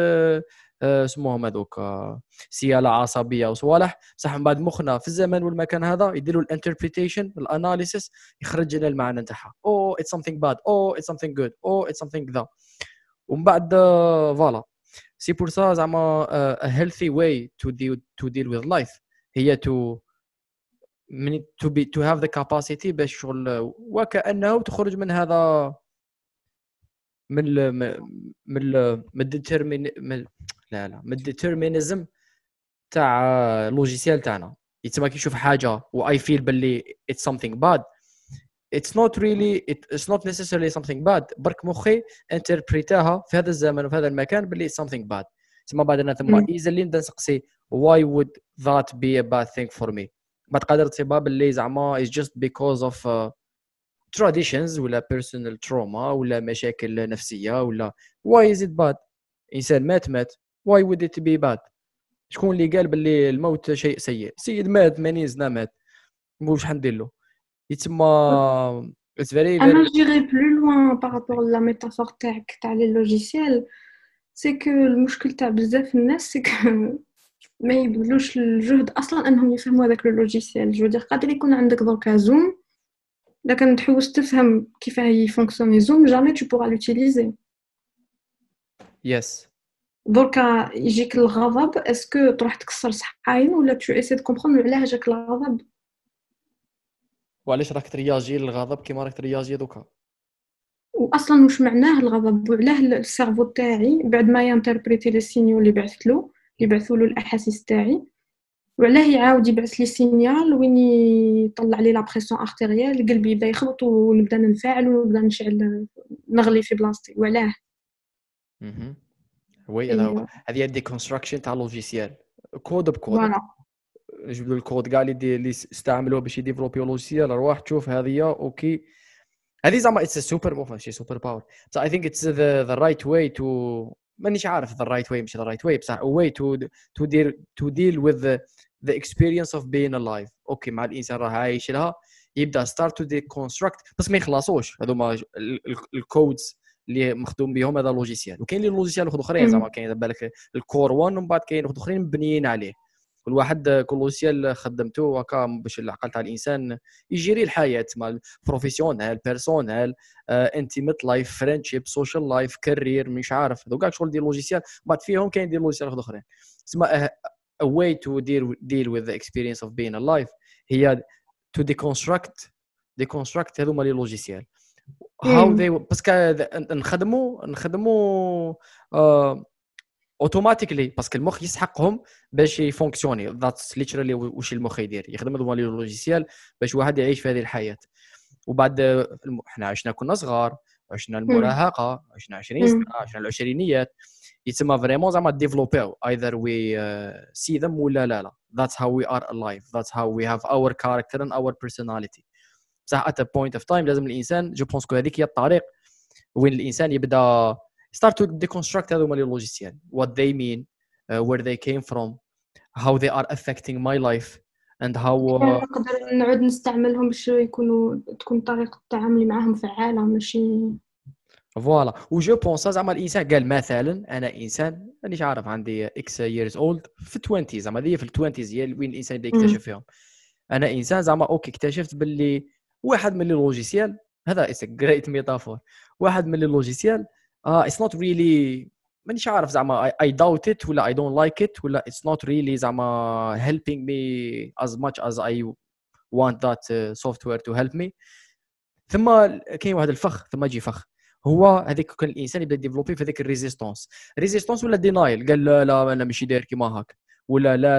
A: اسمهم هذوك سيالة عصبية وصوالح بصح من بعد مخنا في الزمان والمكان هذا يديروا الانتربريتيشن الاناليسيس يخرج لنا المعنى نتاعها. oh it's something bad oh it's something good oh it's something ذا. ومن بعد فوالا سي بور سا زعما a healthy way to deal to deal with life هي to to be to have the capacity باش شغل وكأنه تخرج من هذا من ال من ال من الديترمين لا لا من الديترمينيزم تاع اللوجيسيال تاعنا. يتسمى كي نشوف حاجه و I feel باللي it's something bad it's not really it, it's not necessarily something bad برك مخي انتربريتاها في هذا الزمن وفي هذا المكان باللي it's something bad. تسمى بعد انا ثم ايزلي نبدا نسقسي why would that be a bad thing for me. ما تقدر تصيبها باللي زعما is just because of uh, traditions ولا personal trauma ولا مشاكل نفسيه ولا why is it bad. انسان مات مات why would it be bad. شكون اللي قال باللي الموت شيء سيء؟ سيد مات ثمانين سنه مات واش حندير له. يتسمى it's very very
C: انا جيري بلو لوان بارابور لا ميتافور تاعك تاع لي لوجيسيال. سي كو المشكل تاع بزاف الناس سي كو ما يبذلوش الجهد اصلا انهم يفهموا هذاك اللوجيسيال. جو دير قادر يكون عندك دركا زوم لكن تحوس تفهم كيف هي فونكسيوني زوم جامي tu pourras l'utiliser.
A: يس
C: دركا يجيك الغضب اسكو تروح تكسر صحاين ولا tu essaies de comprendre علاه جاك الغضب
A: وعلاش راك ترياجي للغضب كيما راك ترياجي دوكا
C: واصلا واش معناه الغضب وعلاه السيرفو تاعي بعد ما ينتربريتي لي سينيو اللي بعثت له اللي بعثوا له الاحاسيس تاعي وعلاه يعاود يبعث لي سينيال وين يطلع لي لا بريسيون ارتيريال، قلبي يبدا يخبط ونبدا ننفعل ونبدا نشعل نغلي في بلاصتي. وعلاه
A: اها وي هذا هو.
C: إيه،
A: هذه دي كونستراكشن تاع لوجيسيال كود بكود.
C: فوالا.
A: جبدوا الكود كاع اللي دي اللي استعملوه باش يديفلوبي لوجيسيال، روح تشوف هذه اوكي. هذه زعما اتس سوبر موف ماشي سوبر باور، بس اي ثينك اتس ذا ذا رايت واي تو، مانيش عارف ذا رايت واي مش ذا رايت واي بصح واي تو تو دير تو ديل وذ ذا اكسبيرينس اوف بين الايف. اوكي مع الانسان راه عايش لها، يبدا ستارت تو ديكونستراكت، بس ما يخلصوش هذوما الكودز اللي مخدوم بهم هذا لوجيسيال. وكاين لي لوجيسيال اخرين زعما كاين بالك الكور واحد ومن بعد كاين اخرين مبنيين عليه. كل واحد كل لوجيسيال خدمته هكا باش العقل تاع الانسان يجري الحياه مع بروفيسيونيل بيرسونيل انتيميت لايف فريندشيب سوشيال لايف كارير مش عارف هذوك كاع شغل ديال لوجيسيال. بعد فيهم كاين ديال لوجيسيال اخرين. تسمى a way to deal deal with the experience of being alive هي to deconstruct deconstruct هذوما لي لوجيسيال how they باسكو نخدموا نخدموا اوتوماتيكلي باسكو المخ يسحقهم باش يفونكسيوني. ذاتس ليترالي واش المخ يدير، يخدم هذوما لي لوجيسيال باش واحد يعيش في هذه الحياه. وبعد احنا عشنا كنا صغار، عشنا المراهقه، عشنا عشرين سنه، عشنا العشرينيات، يتسمى فريمون زعما ديفلوبيو either we uh, see them ولا لا لا. that's how we are alive, that's how we have our character and our personality. بصح at a point of time لازم الانسان جو بونس كو هذيك هي الطريق وين الانسان يبدا start to deconstruct هذوما لي لوجيسيال what they mean, uh, where they came from, how they are affecting my life and how uh,
C: نقدر نعود نستعملهم باش يكونوا تكون طريقة تعاملي معهم فعالة ماشي
A: فوالا. وجو بونس زعما الانسان قال مثلا انا انسان مانيش عارف عندي اكس ييرز اولد في العشرين زعما هذه في العشرين هي وين الانسان يبدا يكتشف فيهم. انا انسان زعما اوكي اكتشفت باللي واحد من لي لوجيسيال هذا اتس جريت ميتافور، واحد من لي لوجيسيال اه اتس نوت ريلي مانيش عارف زعما اي داوت ات ولا اي دونت لايك ات ولا اتس نوت ريلي زعما helping me as much as I want that uh, software to help me. ثم كاين واحد الفخ ثم يجي فخ هو هذيك كان الانسان يبدا ديفلوبي في هذيك الريزيستانس ريزيستانس ولا دينايل. قال لا لا انا ماشي داير كيما هاك ولا لا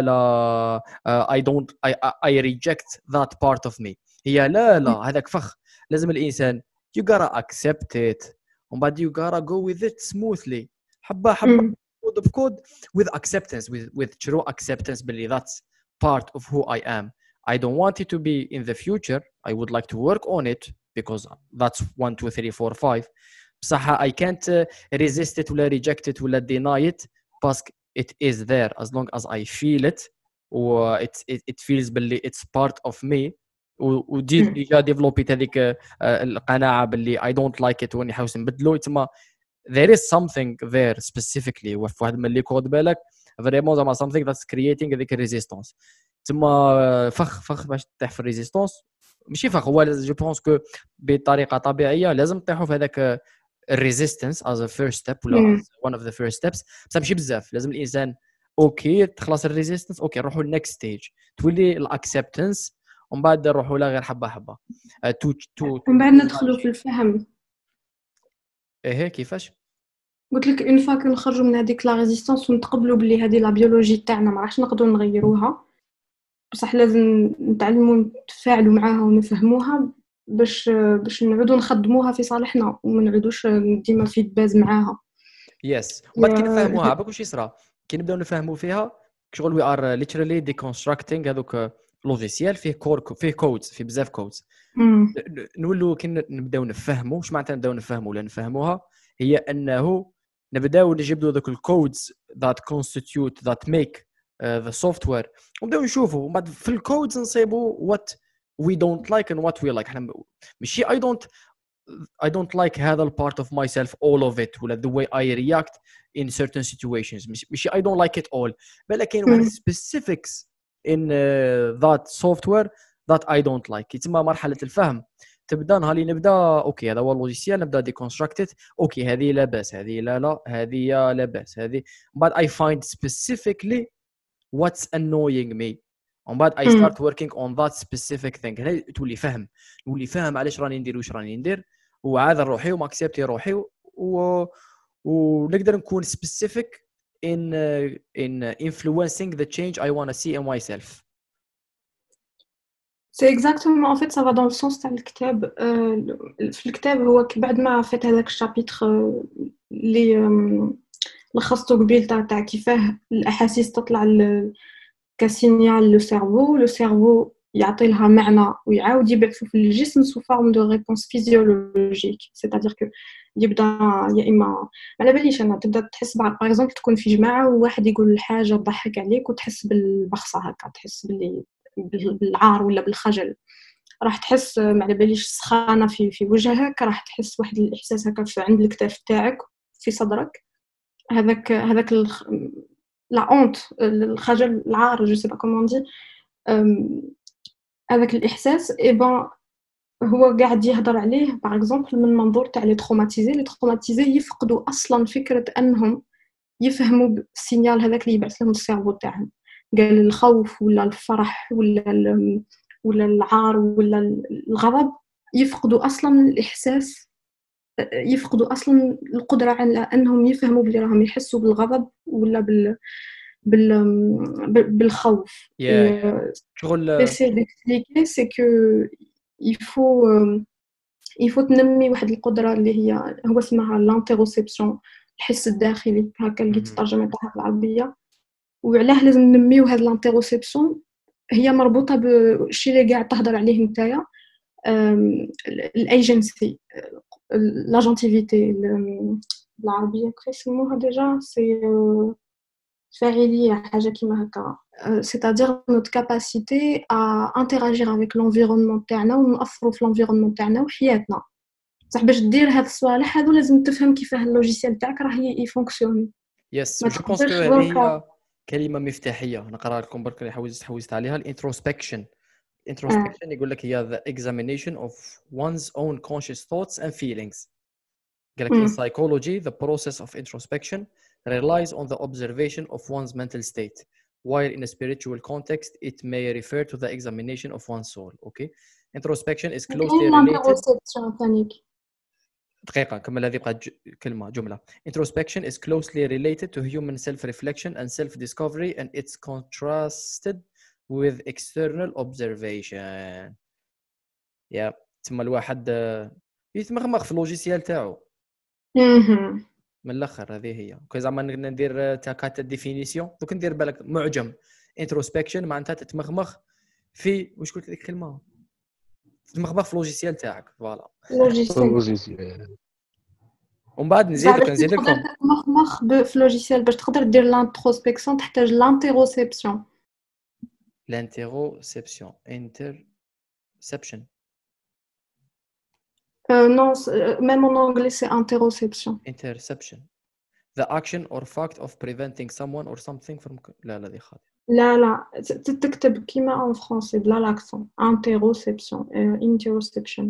A: لا اي دونت اي ريجكت ذات بارت اوف مي. هي لا لا هذاك فخ لازم الانسان you gotta accept it ومن بعد you gotta go with it smoothly حبه حبه كود بكود with acceptance with with true acceptance باللي that's part of who I am. I don't want it to be in the future. I would like to work on it because that's one two three four five. بصح I can't uh, resist it ولا reject it ولا deny it because it is there as long as I feel it و it it, it feels باللي it's part of me. ودي ديجا ديفلوبيت هذيك القناعه باللي I don't like it واني حاوس نبدلو. تما there is something there specifically وفي واحد من لي كود بالك فريمون زعما something that's creating هذيك الريزيستانس. تما فخ فخ باش تطيح في الريزيستانس ماشي فخ هو جو بونس كو بطريقه طبيعيه لازم تطيحوا في هذاك الريزيستانس as a first step ولا one of the first steps. بس ماشي بزاف لازم الانسان اوكي تخلص الريزيستانس اوكي نروحوا للنكست ستيج تولي الاكسبتنس ومن بعد نروحوا لا غير حبه حبه تو تو
C: من بعد ندخلوا في الفهم.
A: ايه كيفاش
C: قلت لك اون فوا كنخرجوا من هذيك لا ريزيستانس ونتقبلوا باللي هذه لا بيولوجي تاعنا ما راحش نقدروا نغيروها بصح لازم نتعلموا نتفاعلوا معاها ونفهموها باش باش نعودوا نخدموها في صالحنا وما نعودوش ديما في باز معاها.
A: يس وبعد كي نفهموها باك واش يصرى كي نبداو نفهموا فيها شغل وي ار ليترالي ديكونستراكتينغ هذوك لوجيسيال فيه كور فيه كودز فيه بزاف كودز نولوا كي نبداو نفهموا واش معناتها نبداو نفهموا ولا نفهموها هي انه نبداو نجبدوا ذوك الكودز that constitute that make uh, the software ونبداو نشوفوا ومن بعد في الكودز نصيبوا what we don't like and what we like. احنا ماشي I don't I don't like هذا part of myself all of it ولا the way I react in certain situations ماشي I don't like it all بل كاين واحد specifics in uh, that software that I don't like. يتم مرحلة الفهم تبدا نهار اللي نبدا اوكي هذا هو اللوجيسيال نبدا ديكونستراكتد اوكي هذه لا باس هذه لا لا هذه لا باس هذه بعد I find specifically what's annoying me ومن بعد I start working on that specific thing. هنا تولي فهم تولي فاهم علاش راني ندير واش راني ندير وعاذر روحي وما اكسبتي روحي و... ونقدر نكون specific in uh, in uh, influencing the change I want to see in myself.
C: سي اكزاكتومون ان فيت سا فا دون السونس تاع الكتاب. في الكتاب هو بعد ما فات هذاك الشابيتر اللي لخصته قبيل تاع تاع كيفاه الاحاسيس تطلع كسينيال لو سيرفو لو سيرفو يعطي لها معنى ويعاود يبعثو في الجسم سو فورم دو ريبونس فيزيولوجيك. سيتادير كو يبدا يا اما على باليش انا تبدا تحس باغ اكزومبل تكون في جماعه وواحد يقول حاجه تضحك عليك وتحس بالبخصه هكا، تحس باللي بالعار ولا بالخجل، راح تحس ما على باليش سخانه في في وجهك، راح تحس واحد الاحساس هكا في عند الكتاف تاعك في صدرك، هذاك هذاك الخ... لا اونت الخجل العار جو سي با كومون دي هذاك الاحساس اي بان هو قاعد يهضر عليه باغ اكزومبل من منظور تاع لي تروماتيزي. لي تروماتيزي يفقدوا اصلا فكره انهم يفهموا السينيال هذاك اللي يبعث لهم السيرفو تاعهم، قال الخوف ولا الفرح ولا ولا العار ولا الغضب، يفقدوا اصلا الاحساس، يفقدوا اصلا القدره على انهم يفهموا بلي راهم يحسوا بالغضب ولا بال بال بالخوف.
A: شغل
C: سي ديكسبليكي سي كو يفو يفو تنمي واحد القدره اللي هي هو اسمها لانتيروسيبسيون، الحس الداخلي هكا اللي تترجم تاعها بالعربيه. وعلاه لازم ننميو هاد لانتيروسيبسيون؟ هي مربوطه بالشيء اللي قاعد تهضر عليه نتايا، الايجنسي لاجونتيفيتي بالعربيه كيف يسموها ديجا، سي فاعليه حاجه كيما هكا. c'est-à-dire notre capacité à interagir avec l'environnement تاعنا ونأثروا في l'environnement تاعنا وحياتنا. صح باش دير هاد الصوالح هادو لازم تفهم كيفاه اللوجيسيال تاعك راه يفونكسيوني.
A: يس جو بونس كو هذه هي كلمه مفتاحيه نقرا لكم برك اللي حوزت حوزت عليها. الانتروسبكشن introspection يقول لك هي the examination of one's own conscious thoughts and feelings. قال لك in psychology the process of introspection relies on the observation of one's mental state, while in a spiritual context it may refer to the examination of one's soul. Okay, introspection is closely related. دقيقة كمل هذه بقى كلمة جملة. Introspection is closely related to human self-reflection and self-discovery, and it's contrasted with external observation. يا yeah. تسمى الواحد يتمخمخ في اللوجيسيال تاعو من الاخر. هذه هي كي زعما ندير تاكات ديفينيسيون دوك ندير بالك معجم انتروسبكشن معناتها تتمخمخ في واش قلت لك الكلمه، تتمخمخ في اللوجيسيال تاعك. فوالا
B: اللوجيسيال
A: ومن بعد نزيدك نزيد لكم
C: تتمخمخ في اللوجيسيال باش تقدر دير لانتروسبكسيون تحتاج لانتيروسيبسيون.
A: L'interoception, interception.
C: Euh, non, même en anglais, c'est interoception.
A: Interception. The action or fact of preventing someone or something from... لا لا دي خاطئ.
C: لا لا تكتب كيما en français بلا l'accent. Interoception. Uh, interoception.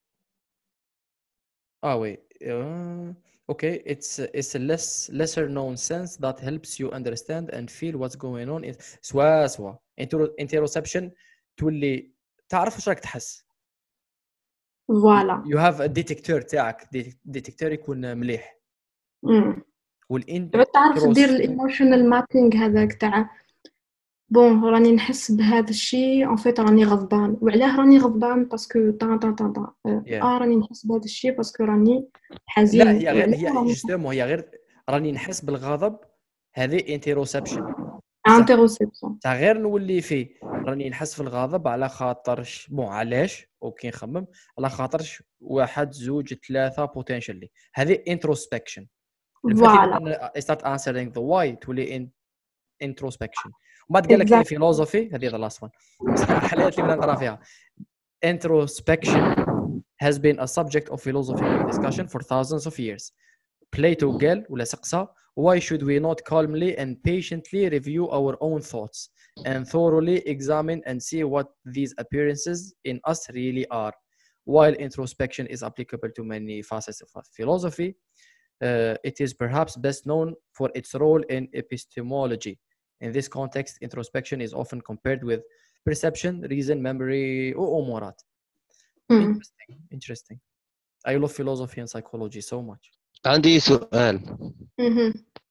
A: Ah oui. Uh, okay, it's it's a less lesser known sense that helps you understand and feel what's going on. In... سوا سوا. Interoception تولي تعرف واش راك تحس.
C: فوالا.
A: You have a detector تاعك، detector يكون مليح.
C: امم.
A: والإن
C: تعرف دير الايموشنال مابينغ هذاك تاع بون راني نحس بهذا الشيء ان فيت راني غضبان، وعلاه راني غضبان باسكو طا طا طا طا اه راني نحس بهذا الشيء باسكو راني حزين.
A: لا هي غير هي جوستومون هي غير راني نحس بالغضب، هذه انتيروسبشن
C: انتيروسبشن
A: تاع غير نولي فيه راني نحس في الغضب على خاطرش بون علاش اوكي نخمم على خاطرش واحد زوج ثلاثه بوتنشالي، هذه انتروسبكشن.
C: فوالا
A: I start answering the why تولي introspection. وبعد قال لك كاين فيلوزوفي هذه ذا لاست وان الحلقات اللي نقرا فيها. Introspection has been a subject of philosophical discussion for thousands of years. Plato قال ولا سقسى why should we not calmly and patiently review our own thoughts and thoroughly examine and see what these appearances in us really are. While introspection is applicable to many facets of philosophy, uh, it is perhaps best known for its role in epistemology. In this context, introspection is often compared with perception, reason, memory, or أمورات. Interesting, interesting. I love philosophy and psychology so much.
B: عندي سؤال.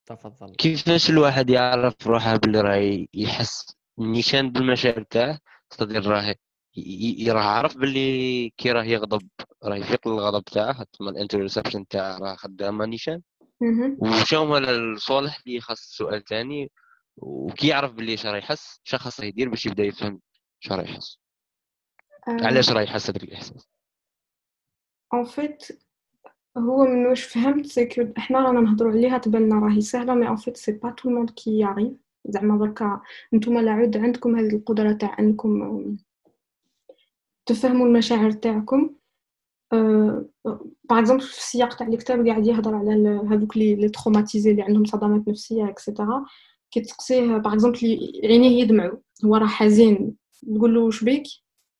A: تفضل.
B: كيفاش الواحد يعرف روحه باللي راه يحس نيشان بالمشاعر تاعه؟ تقدر راه راه عارف باللي كي راه يغضب راه يفيق الغضب تاعه، تما الانترسبشن تاعه راه خدامه نيشان. وشنو هما الصوالح اللي خاص السؤال ثاني، وكي يعرف باللي اش راه يحس، اش خاصه يدير باش يبدا يفهم اش راه يحس، علاش راه يحس هذاك الاحساس؟
C: ان فيت هو من واش فهمت سي كو احنا رانا نهضروا عليها تبان راهي سهله، مي ان فيت سي با تو الموند كي ياريف. زعما دركا نتوما العود عندكم هذه القدره تاع انكم تفهموا المشاعر تاعكم. باغ اكزومبل في السياق تاع الكتاب قاعد يهضر على هذوك لي لي تروماتيزي اللي عندهم صدمات نفسيه اكسيتيرا. كي تسقسيه باغ اكزومبل عينيه يدمعوا، هو راه حزين، تقول له واش بيك،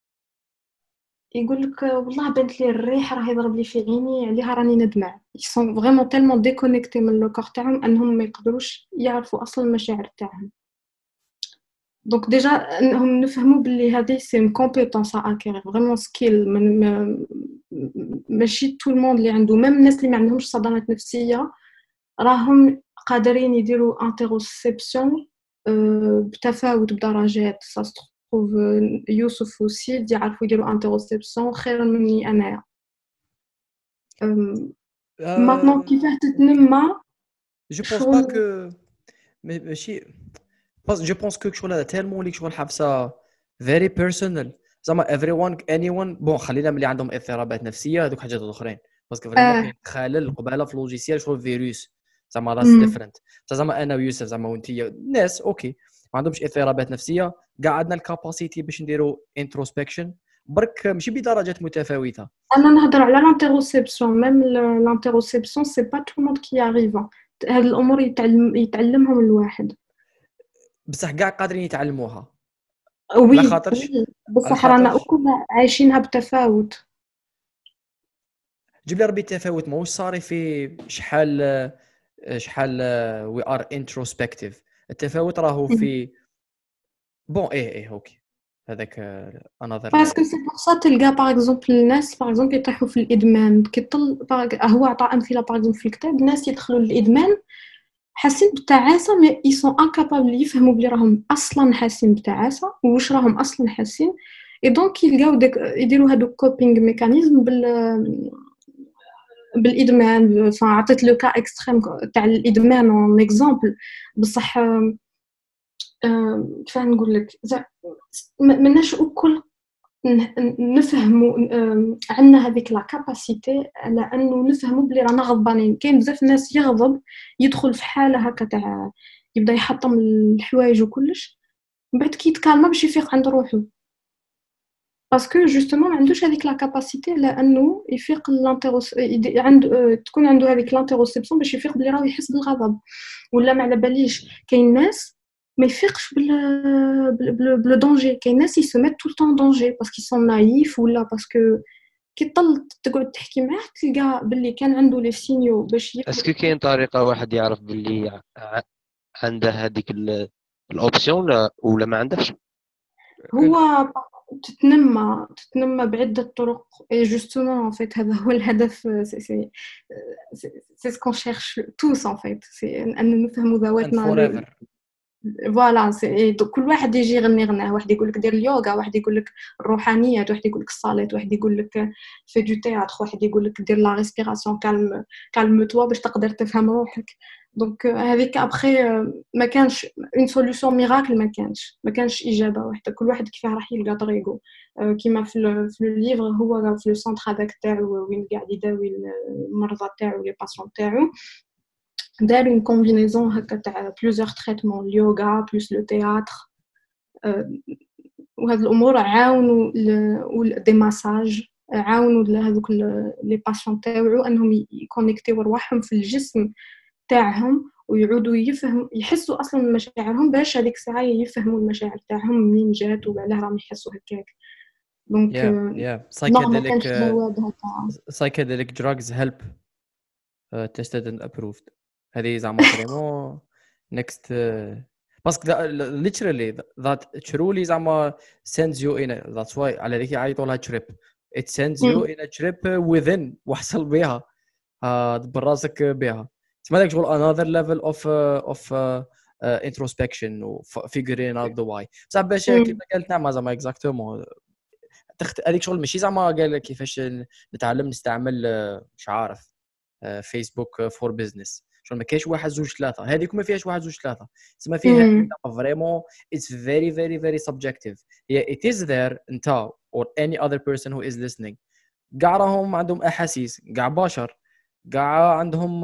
C: يقول لك والله بانت لي الريح راه يضرب لي في عيني عليها راني ندمع. يسون فريمون تالمون ديكونيكتي من لو كور تاعهم انهم ما يقدروش يعرفوا اصلا المشاعر تاعهم. دونك ديجا انهم نفهموا باللي هذه سي كومبيتونس ا اكير فريمون سكيل. من ماشي تو الموند اللي عنده، ميم الناس اللي ما عندهمش صدمات نفسيه راهم قادرين يديروا انتروسبسيون بتفاوت بدرجات. ساستروف يوسف وسيد يعرفوا يديروا انتروسبسيون خير مني انايا. ماتنون كيفاه تتنمى؟
A: جو بونس با كو ماشي بس جو بونس كو شغل هذا تالمون ليك شغل حبسه فيري بيرسونال. زعما everyone anyone بون خلينا ملي عندهم اضطرابات نفسيه هذوك حاجات اخرين، باسكو فريمون كاين خلل قباله في لوجيسيال شغل فيروس زعما راس ديفرنت. زعما انا ويوسف زعما وانتي ناس اوكي ما عندهمش اضطرابات نفسيه، كاع عندنا الكاباسيتي باش نديروا انتروسبكشن، برك ماشي بدرجات متفاوته.
C: انا نهضر على لانتروسبسيون. ميم لانتروسبسيون سي با تو الموند كي اريفا. هاد الامور يتعلم يتعلمهم الواحد،
A: بصح كاع قادرين يتعلموها.
C: وي
A: على خاطرش
C: بصح رانا كل عايشينها بتفاوت.
A: جيب لي ربي التفاوت ماهوش صاري في شحال شحال وي ار انتروسبكتيف. التفاوت راهو في بون ايه ايه اوكي هذاك انذر
C: باسكو سي بور سا تلقى باغ اكزومبل الناس باغ اكزومبل يطيحوا في الادمان. كيطل هو عطى امثله باغ اكزومبل في الكتاب ناس يدخلوا للادمان حاسين بالتعاسه، مي اي سون انكابابل يفهموا بلي راهم اصلا حاسين بالتعاسه واش راهم اصلا حاسين. اي دونك يلقاو داك يديروا هادوك كوبينغ ميكانيزم بال بالادمان. فعطيت لو كا اكستريم تاع الادمان اون اكزامبل، بصح كيف نقول لك مناش الكل نفهموا عندنا هذيك لا كاباسيتي على انه نفهموا بلي رانا غضبانين. كاين بزاف ناس يغضب يدخل في حاله هكا تاع يبدا يحطم الحوايج وكلش، من بعد كي يتكالما باش يفيق عند روحه، باسكو جوستومون ما عندوش هذيك لا كاباسيتي لانه يفيق لانتروس عنده تكون عنده هذيك لانتروسبسيون باش يفيق بلي راه يحس بالغضب ولا ما على باليش. كاين ناس ما يفيقش بال بل بل دونجي، كاين ناس يسمات طول طون دونجي باسكو سون نايف ولا باسكو كي طل تقعد تحكي معاه تلقى باللي كان عنده لي سينيو باش يفيق.
B: اسكو كاين طريقه واحد يعرف باللي عنده هذيك الاوبسيون ولا ما عندهش؟
C: هو تتنمى تتنمى بعدة طرق. اي جوستومون ان فيت هذا هو الهدف. سي سي سي سكون شيرش توس ان فيت، سي ان نفهموا ذواتنا. فوالا سي كل واحد يجي يغني غناه، واحد يقول لك دير اليوغا، واحد يقول لك الروحانيات، واحد يقول لك الصلاه، واحد يقول لك في دو تياتر، واحد يقول لك دير لا ريسبيراسيون كالم كالم توا باش تقدر تفهم روحك. دونك هذيك ابخي ما كانش اون سوليوشن ميراكل، ما كانش ما كانش اجابه واحده. كل واحد كيفاه راح يلقى طريقه. كيما في في الليفر هو في لو سونتر هذاك تاعو وين قاعد يداوي المرضى تاعو لي باسيون تاعو، دار une combinaison هكا تاع plusieurs traitements اليوغا بلس لو تياتر. وهاد الامور عاونوا دي ماساج عاونوا هذوك لي باسيون تاعو انهم يكونيكتيو رواحهم في الجسم تاعهم ويعودوا يفهموا يحسوا اصلا مشاعرهم باش هذيك الساعه يفهموا المشاعر تاعهم منين جات وعلاه راهم يحسوا هكاك. دونك
A: يا
C: psychedelic
A: psychedelic drugs help uh, tested and approved. هذه زعما فريمون next باسكو literally that truly زعما sends you in a, that's why على ذيك يعيطوا لها trip. it sends you in a trip within وحصل بها دبر راسك بها. تسمى داك شغل another level of uh, of uh, uh, introspection و figuring out the why بصح باش كيما قالت نعم زعما اكزاكتومون تخت هذيك شغل ماشي زعما قال كيفاش نتعلم نستعمل مش عارف فيسبوك فور بزنس شغل ما كاينش واحد زوج ثلاثه هذيك ما فيهاش واحد زوج ثلاثه تسمى فيها فريمون it's very very very subjective هي it is there انت or any other person who is listening كاع راهم عندهم احاسيس كاع بشر كاع عندهم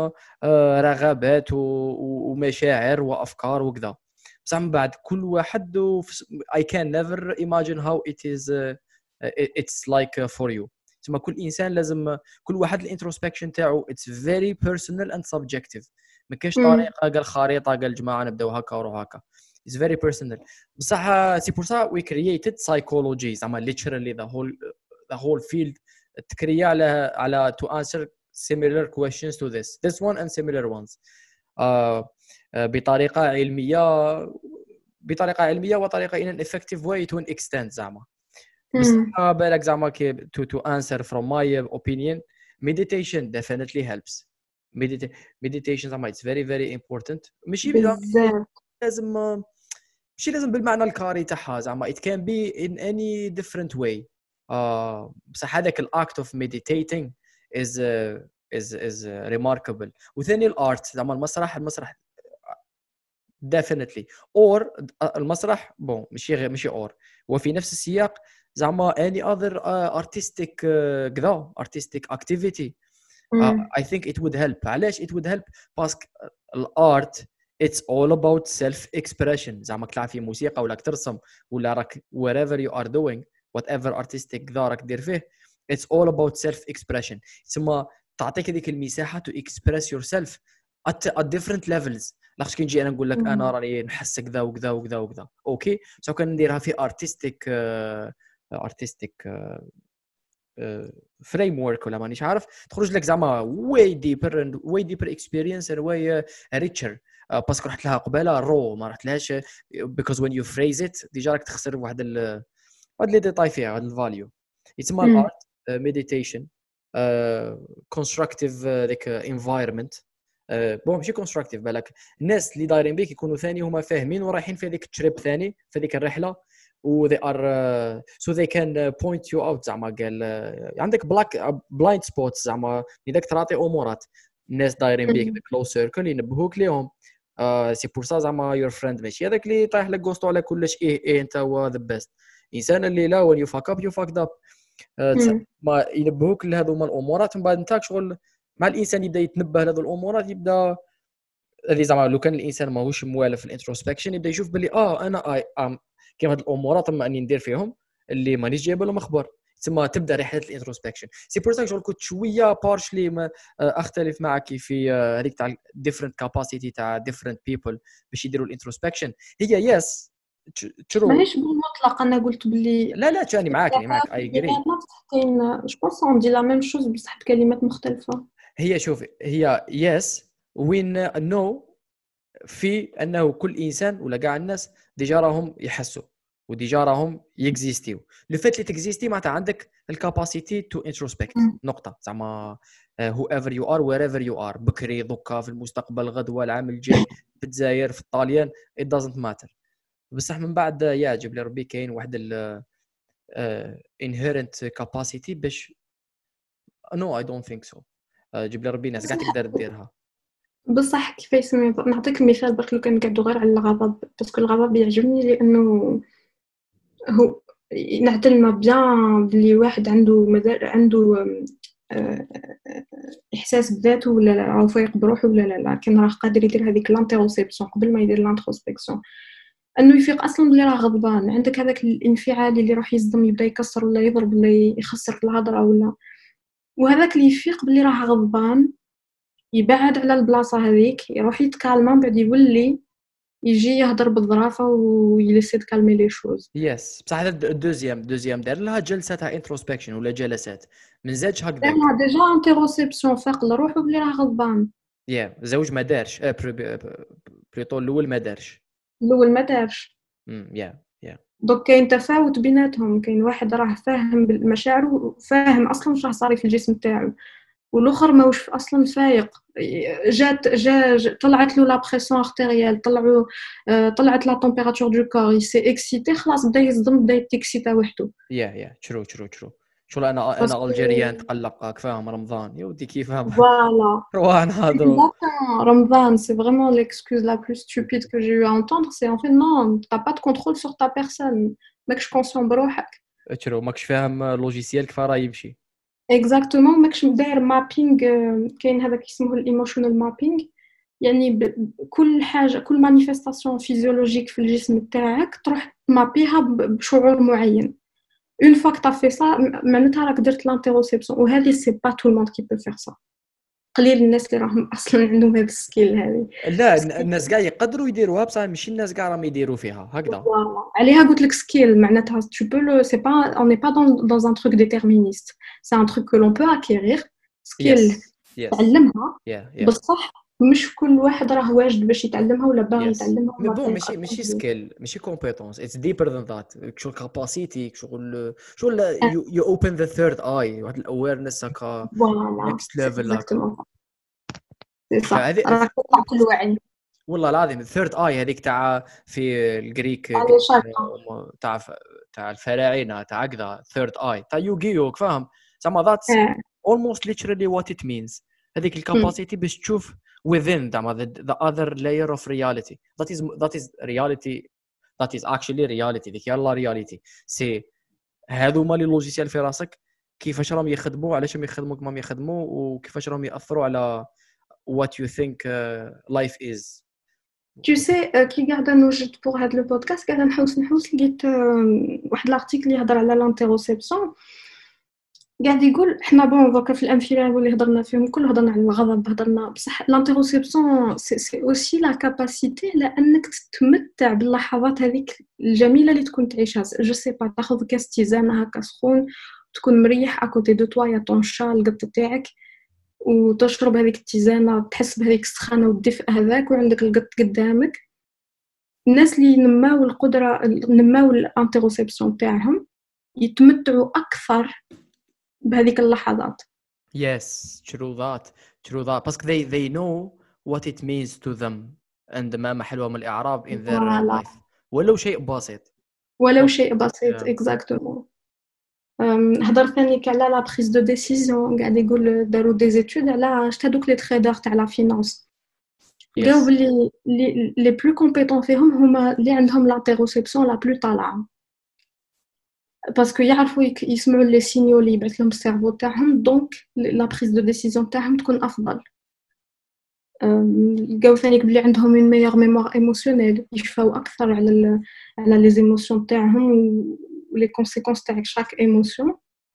A: رغبات ومشاعر وافكار وكذا بصح من بعد كل واحد I can never imagine how it is uh, it's like for you تسمى كل انسان لازم كل واحد الانتروسبكشن تاعو it's very personal and subjective ما كاينش طريقه قال خريطه قال جماعه نبداو هكا وروح هكا it's very personal بصح سي بور سا we created psychology زعما literally the whole the whole field تكريا على على to answer similar questions to this this one and similar ones uh, uh, بطريقه علميه بطريقه علميه وطريقه in an effective way to an extent زعما بصح بالك زعما كي to to answer from my opinion meditation definitely helps Medita- meditation زعما it's very very important ماشي لازم ماشي لازم بالمعنى الكاري تاعها زعما it can be in any different way uh, بصح هذاك الاكت اوف meditating is uh, is is uh, remarkable وثاني الارت زعما المسرح المسرح definitely or المسرح بون ماشي ماشي اور وفي نفس السياق زعما any other uh, artistic كذا uh, artistic activity uh, I think it would help علاش it would help باسكو الارت it's all about self expression زعما كتلعب في موسيقى ولا ترسم ولا راك wherever you are doing whatever artistic كذا راك دير فيه it's all about self expression ثم تعطيك هذيك المساحه to express yourself at, at different levels لاخاطش كي نجي انا نقول لك انا راني نحس كذا وكذا وكذا وكذا اوكي سو كان نديرها في artistic uh, artistic uh, فريم ورك ولا مانيش عارف تخرج لك زعما way deeper and way deeper experience and way uh, richer uh, باسكو رحت لها قباله رو ما رحت لهاش because when you phrase it ديجا راك تخسر واحد ال واحد لي ديتاي فيها هذا الفاليو يتسمى الارت ميديتيشن constructive ذاك environment بون ماشي constructive بالك الناس اللي دايرين بيك يكونوا ثاني هما فاهمين ورايحين في هذيك التريب ثاني في هذيك الرحله و they are uh, so they can uh, point you out زعما قال uh, عندك black blind spots زعما اذا تعطي امورات الناس دايرين بيك the close circle ينبهوك ليهم سي بور سا زعما your friend ماشي هذاك اللي طايح لك غوستو على كلش ايه ايه انت هو the best انسان اللي لا when you fuck up you fucked up uh, ما ينبهوك لهذو هما الامورات من بعد انت شغل مع الانسان يبدا يتنبه لهذو الامورات يبدا هذه زعما لو كان الانسان ماهوش موالف في الانتروسبكشن يبدا يشوف بلي اه انا اي ام كيما هاد الامورات اما اني ندير فيهم اللي مانيش جايب لهم اخبار ثم تبدا رحله الانتروسبكشن سي بور سا جو كنت شويه بارشلي ما اختلف معك في هذيك تاع ديفرنت كاباسيتي تاع ديفرنت بيبل باش يديروا الانتروسبكشن هي يس
C: ترو ماهيش بالمطلق انا قلت بلي
A: لا لا تاني معاك انا معاك اي اجري
C: كاين جو بونس اون دي لا ميم شوز بصح بكلمات مختلفه
A: هي شوفي هي يس وين نو في انه كل انسان ولا كاع الناس ديجا راهم يحسوا وديجا راهم يكزيستيو لو فات اللي تكزيستي معناتها عندك الكاباسيتي تو انتروسبكت نقطه زعما هو ايفر يو ار وير ايفر يو ار بكري دوكا في المستقبل غدوه العام الجاي في الجزائر في الطاليان it doesn't matter بصح من بعد يعجب لي ربي كاين واحد ال inherent capacity باش no I don't think so جيب لي ربي ناس قاعد تقدر ديرها
C: بصح كيفاش سمي نعطيك مثال باش لو كان نقعدوا غير على الغضب باسكو الغضب يعجبني لانه هو نعتلنا بيان بلي واحد عنده مدار عنده احساس بذاته ولا لا او فايق بروحه ولا لا لا كان راه قادر يدير هذيك لانتروسبسيون قبل ما يدير لانتروسبكسيون انه يفيق اصلا بلي راه غضبان عندك هذاك الانفعال اللي راح يصدم يبدا يكسر ولا يضرب ولا يخسر في الهضره ولا وهذاك اللي يفيق بلي راه غضبان يبعد على البلاصه هذيك يروح يتكالما بعد يولي يجي يهضر بالظرافه ويلسي تكالمي لي شوز
A: يس بصح هذا الدوزيام دوزيام دار لها جلسه تاع انتروسبكشن ولا جلسات من زادش هكذا
C: دار ديجا انتروسبسيون فاق لروحو بلي راه غضبان
A: يا زوج ما دارش بليطو الاول ما دارش
C: الاول ما دارش
A: امم يا يا
C: دوك كاين تفاوت بيناتهم كاين واحد راه فاهم بالمشاعر وفاهم اصلا واش راه صاري في الجسم تاعو والاخر ماهوش اصلا فايق. جات جا جا- طلعت له لا بريسيون ارتيريال، طلعوا آه، طلعت لا تمبيراتور دو كور، سي اكسيتي، خلاص بدا يصدم، بدا يتكسيتا وحده.
A: يا يا ترو ترو ترو شغل انا انا
C: باسكو
A: الجيريان تقلق فاهم رمضان يا ودي كيف فاهم
C: فوالا
A: روح نهضروا.
C: exactement. Ramadan, c'est vraiment l'excuse la plus stupide que j'ai eu à entendre. C'est en fait non, t'as pas de contrôle sur ta personne. ماكش conscient بروحك.
A: ترو ماكش فاهم لوجيسيال كيف راه يمشي.
C: exactement ماكش داير مابينغ. كاين هذاك اسمه الايموشنال مابينغ، يعني ب- كل حاجه، كل مانيفستاسيون فيزيولوجيك في الجسم تاعك تروح تمابيها ب- بشعور معين. اون فوا que t'as fait ça معناتها راك درت لانتيروسيبسيون، وهذه سي با تو الموند كي بو فير سا. قليل الناس اللي راهم اصلا عندهم هذا السكيل هذه.
A: لا الناس كاع يقدروا يديروها بصح ماشي الناس كاع راهم يديروا فيها هكذا.
C: Voilà. عليها قلت لك سكيل، معناتها tu peux le c'est pas on n'est pas dans dans un truc déterministe, c'est un truc que l'on peut acquérir. سكيل
A: يس يس
C: تعلمها
A: يا يا
C: بصح مش كل واحد راه واجد باش يتعلمها ولا باغي
A: يس
C: يتعلمها
A: مي
C: ولا
A: بون
C: فايق
A: ماشي
C: أصلاً
A: ماشي
C: بيه.
A: سكيل ماشي كومبيتونس اتس ديبر ذان ذات شغل كاباسيتي شغل شغل
C: آه،
A: يو يو اوبن ذا ثيرد اي واحد الاويرنس هكا
C: فوالا
A: نيكست
C: سي
A: ليفل هكا.
C: اكزاكتومون سي صح،
A: هذه
C: راك تطلع في الوعي
A: والله العظيم الثيرد اي هذيك تاع في الجريك
C: على
A: جريك
C: شاكا.
A: تاع تاع الفراعنه تاع كذا ثيرد اي تاع يوغيو فاهم زعما ذاتس
C: اه
A: almost literally what it means. هذيك الكاباسيتي باش تشوف within زعما the, the other layer of reality that is that is reality that is actually reality ذيك يلا reality سي هذوما لي لوجيسيال في راسك كيفاش راهم يخدموا علاش راهم يخدموا كما راهم يخدموا وكيفاش راهم ياثروا على what you think uh, life is.
C: Tu sais euh, كي قاعده نوجد pour هذا البودكاست قاعده نحوس نحوس لقيت آه، واحد الارتيكل يهضر على لانتيروسيبسيون. قاعد يقول احنا بون دوكا في الامثله اللي هضرنا فيهم كل هضرنا على الغضب، هضرنا بصح لانتيروسيبسيون سي سي اوسي لا كاباسيتي لانك تتمتع باللحظات هذيك الجميله اللي تكون تعيشها. جو سي با تاخذ كاس تيزانه هكا سخون، تكون مريح اكوتي دو توا يا طون شا القط تاعك، وتشرب هذيك التيزانه، تحس بهذيك السخانه والدفء هذاك، وعندك القط قدامك. الناس اللي نماو القدره نماو الانتيروسيبسيون تاعهم يتمتعوا اكثر بهذيك اللحظات.
A: Yes, true that, true that. Because they they know what it means to them and ما محلوها من الإعراب in their
C: فوالا
A: life. ولو شيء بسيط.
C: ولو
A: But
C: شيء بسيط
A: yeah,
C: اكزاكتومون. هضر ثاني على لا بريز دو ديسيزيون، قاعد يقول داروا دي زيتود على شتا دوك لي تريدر تاع لا فينانس، لقاو
A: yes,
C: بلي لي لي بلو كومبيتون فيهم هما اللي عندهم لانتيروسيبسيون لا بلو طالعه، باسكو يعرفوا يك- يسمعوا لي سينيو اللي يبعث لهم السيرفو تاعهم، دونك لا بريز دو ديسيزيون تاعهم تكون افضل. أم، لقاو ثاني بلي عندهم اون ميور ميموار ايموسيونيل، يشفاو اكثر على ال على لي زيموسيون تاعهم ولي كونسيكونس تاع شاك ايموسيون.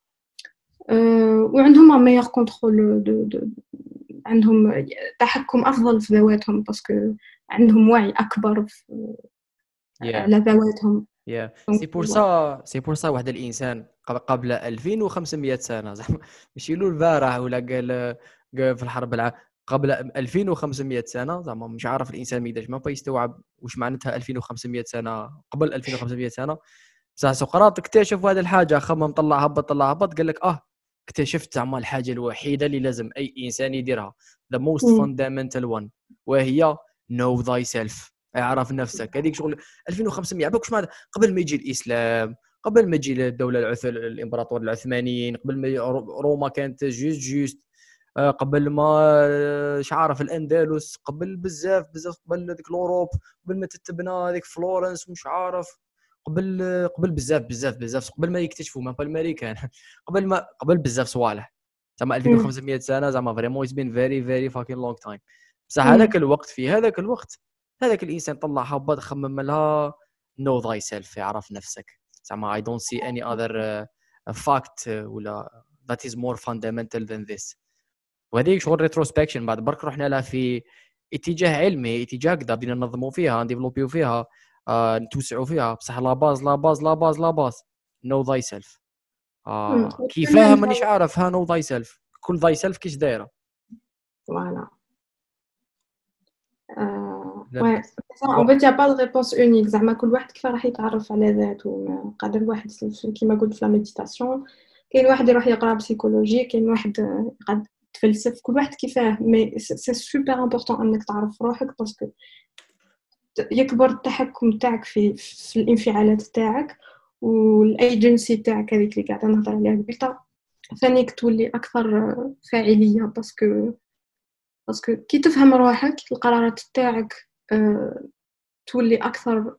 C: أه، وعندهم ان ميور كونترول دو دو عندهم تحكم افضل في ذواتهم، باسكو عندهم وعي اكبر في
A: yeah,
C: على ذواتهم.
A: yeah.
C: دونك
A: سي بور سا سي بور سا واحد الإنسان قب- قبل ألفين وخمسمية سنة زعما ماشي له البارح ولا قال قال في الحرب الع... قبل ألفين وخمسمية سنة زعما مش عارف الإنسان ما يقدرش ما يستوعب واش معناتها ألفين وخمسمية سنة قبل ألفين وخمسمية سنة. بصح سقراط اكتشف هذه الحاجه، خمم طلع هبط طلع هبط قال لك اه اكتشفت زعما الحاجه الوحيده اللي لازم اي انسان يديرها the most
C: مم.
A: fundamental one وهي know thyself، اعرف نفسك. هذيك شغل ألفين وخمسمية عباك واش معناتها قبل ما يجي الاسلام، قبل ما تجي الدوله العث... الامبراطور العثمانيين، قبل ما روما كانت جوست جوست آه، قبل ما اش عارف الاندلس، قبل بزاف بزاف قبل هذيك الاوروب، قبل ما تتبنى هذيك فلورنس ومش عارف، قبل قبل بزاف بزاف بزاف قبل ما يكتشفوا ما الامريكان قبل ما قبل بزاف صوالح زعما ألفين وخمسمية سنه زعما فريمون it's been very very fucking long time. بصح هذاك الوقت في هذاك الوقت هذاك الانسان طلع هبط خمم لها know thyself، يعرف نفسك زعما I don't see any other uh, fact uh, ولا that is more fundamental than this. وهذيك شغل ريتروسبكشن بعد برك رحنا لها في اتجاه علمي، اتجاه كذا بدينا ننظموا فيها نديفلوبيو فيها آه، نتوسعوا فيها. بصح لا باز لا باز لا باز لا باز نو ذاي سيلف. كيفاه مانيش عارف ها نو ذاي سيلف، كل ذاي سيلف كيش دايره.
C: فوالا وي ان فيت يا با دو ريبونس اونيك، زعما كل واحد كيف راح يتعرف على ذاته. قادر واحد كيما قلت في لا ميديتاسيون، كاين واحد يروح يقرا بسيكولوجي، كاين واحد قد تفلسف كل واحد كيفاه مي سي سوبر امبورطون انك تعرف روحك باسكو يكبر التحكم تاعك في في الانفعالات تاعك والايجنسي تاعك هذيك اللي قاعده نهضر عليها قبيله ثانيك تولي اكثر فاعليه باسكو باسكو كي تفهم روحك القرارات تاعك أه تولي اكثر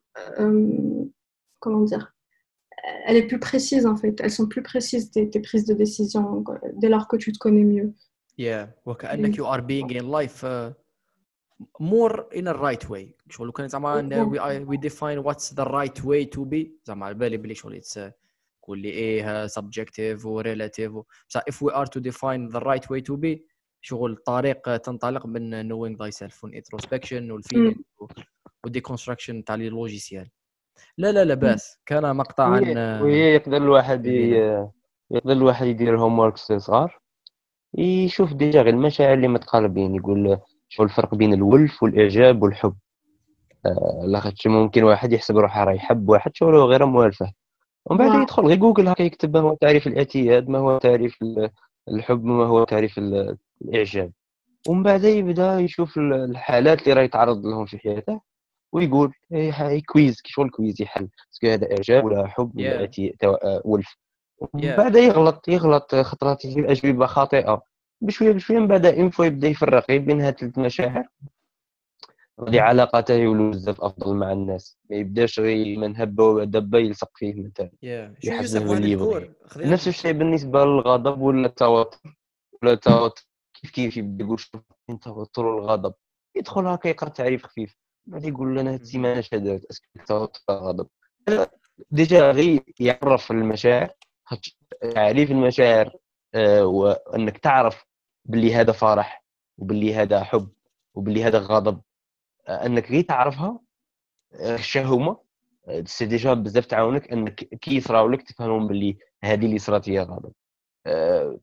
C: comment dire elle est plus précise en fait elles sont plus précises tes, tes prises de décision dès lors que tu te connais mieux
A: yeah وكأنك you are being in life uh, more in a right way شغل كان زعما we we define what's the right way to be زعما على بالي بلي شغل it's كل ايه subjective و relative بصح if we are to define the right way to be شغل الطريق تنطلق من knowing thyself و introspection و feeling و deconstruction تاع لي لوجيسيال لا لا لا باس كان مقطع عن
B: وهي يقدر الواحد يقدر الواحد يدير هوم وركس صغار يشوف ديجا غير المشاعر اللي متقاربين يقول شو الفرق بين الولف والاعجاب والحب آه لاخاطش ممكن واحد يحسب روحه راه يحب واحد شغله غير موالفه ومن بعد يدخل غير جوجل هكا يكتب ما هو تعريف الاعتياد ما هو تعريف الحب ما هو تعريف الاعجاب ومن بعد يبدا يشوف الحالات اللي راه يتعرض لهم في حياته ويقول اي كويز كي شغل كويز يحل اسكو هذا اعجاب ولا حب ولا اعتياد ولف ومن بعد يغلط يغلط خطرات يجيب اجوبه خاطئه بشويه بشويه من بعد انفو يبدا يفرق بين هاد ثلاث مشاعر غادي علاقاته يولوا بزاف افضل مع الناس ما يبداش غير من هبه ودبه يلصق فيه مثلا
A: يحسب باللي يبغي
B: نفس الشيء بالنسبه للغضب ولا التوتر ولا التوتر كيف كيف يبدا يقول شوف انت توتر والغضب يدخل هكا يقرا تعريف خفيف بعد يقول لنا هاد السيمانه اش درت اسكو التوتر الغضب ديجا غير يعرف المشاعر تعريف المشاعر آه وانك تعرف باللي هذا فرح وباللي هذا حب وباللي هذا غضب آه انك غير تعرفها آه الشهومه آه سي ديجا بزاف تعاونك انك كي يصراو لك تفهمهم باللي هذه اللي صرات هي غضب آه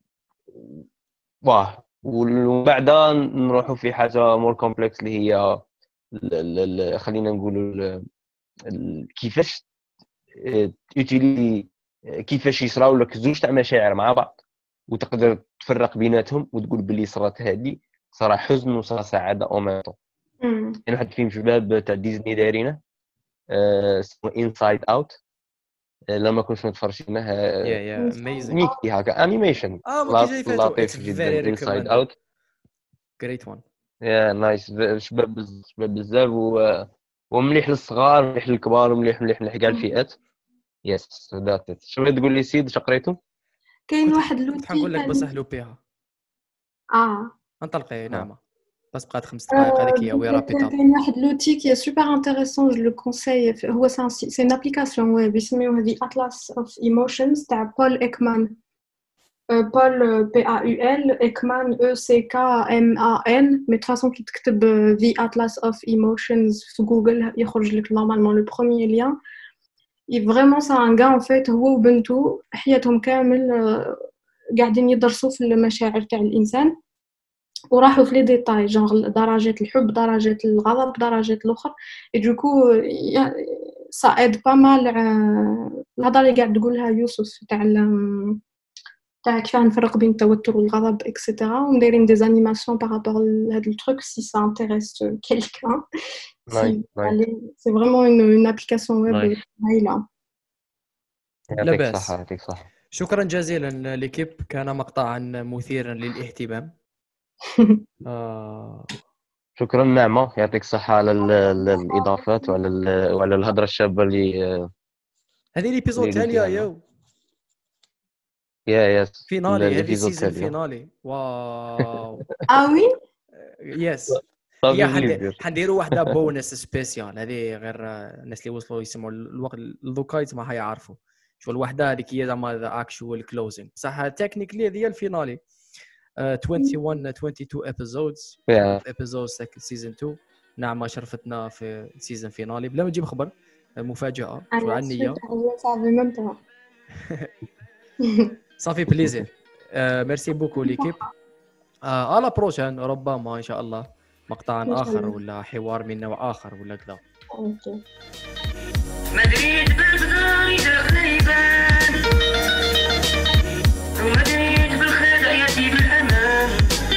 B: واه ومن بعد نروحوا في حاجه مور كومبلكس اللي هي خلينا نقولوا كيفاش يوتيلي كيفاش يصراو لك زوج تاع مشاعر مع بعض وتقدر تفرق بيناتهم وتقول باللي صرات هذه صرا حزن وصرا سعاده او ميطو يعني واحد فيلم شباب تاع ديزني دايرينه اسمه انسايد اوت لما كنت متفرجينه
A: يا يا اميزنج
B: ميكي هكا انيميشن لطيف جدا انسايد اوت
A: جريت وان
B: يا نايس شباب شباب بزاف و ومليح للصغار مليح للكبار ومليح مليح لكاع الفئات يس ذات شنو تقول لي سيد شقريتو
C: كاين واحد لوتي
A: حنقول لك بسهلوا بها
C: اه
A: انطلقي نعمه بس بقات خمس دقائق هذيك هي وي رابيدها
C: كاين واحد لوتي كي سوبر انتريسون جو لو كونساي هو سي ان ابليكاسيون ويب اسمه هذه اطلس اوف ايموشنز تاع بول ايكمان بول بي ا يو ال ايكمان او سي كا ام ا ان مي تفاصون كي تكتب ذا اطلس اوف ايموشنز في جوجل يخرج لك نورمالمون لو بروميير لين اي فريمون سا ان غا ان فيت هو وبنته حياتهم كامل قاعدين يدرسوا في المشاعر تاع الانسان وراحوا في لي ديتاي جونغ درجات الحب درجات الغضب درجات الاخر اي دوكو سا ايد با مال الهضره اللي قاعد تقولها يوسف تاع تاع كيف نفرق بين التوتر والغضب اكسيتيرا ونديرين دي انيماسيون بارابور لهاد التروك سي سا انتريس كيلكان سي سي فريمون اون ابليكاسيون ويب هايله
A: يعطيك الصحه يعطيك الصحه شكرا جزيلا ليكيب كان مقطعا مثيرا للاهتمام
B: آه. شكرا نعمة يعطيك الصحة على الإضافات وعلى وعلى الهضرة الشابة اللي
A: هذه الإبيزود الثانية يو
B: يا يس
A: فينالي هذه السيزون فينالي واو
C: آه وي
A: يس يا حنديروا واحدة بونس سبيسيال هذه غير الناس اللي وصلوا يسمعوا الوقت الذوكايت ما هيعرفوا شو الوحدة هذيك هي زعما ذا اكشوال كلوزينغ صح تكنيكلي هذه الفينالي واحد وعشرين اثنين وعشرين episodes
B: yeah.
A: episodes season two نعم شرفتنا في السيزون فينالي بلا ما نجيب خبر مفاجأة شو عنية صافي بليزير ميرسي بوكو ليكيب على بروشان ربما إن شاء الله مقطع آخر ولا حوار من نوع آخر ولا كذا مدريد بالبدار يدخل يبان ومدريد بالخير يأتي بالأمان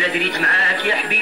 D: دريت معاك يا حبيبي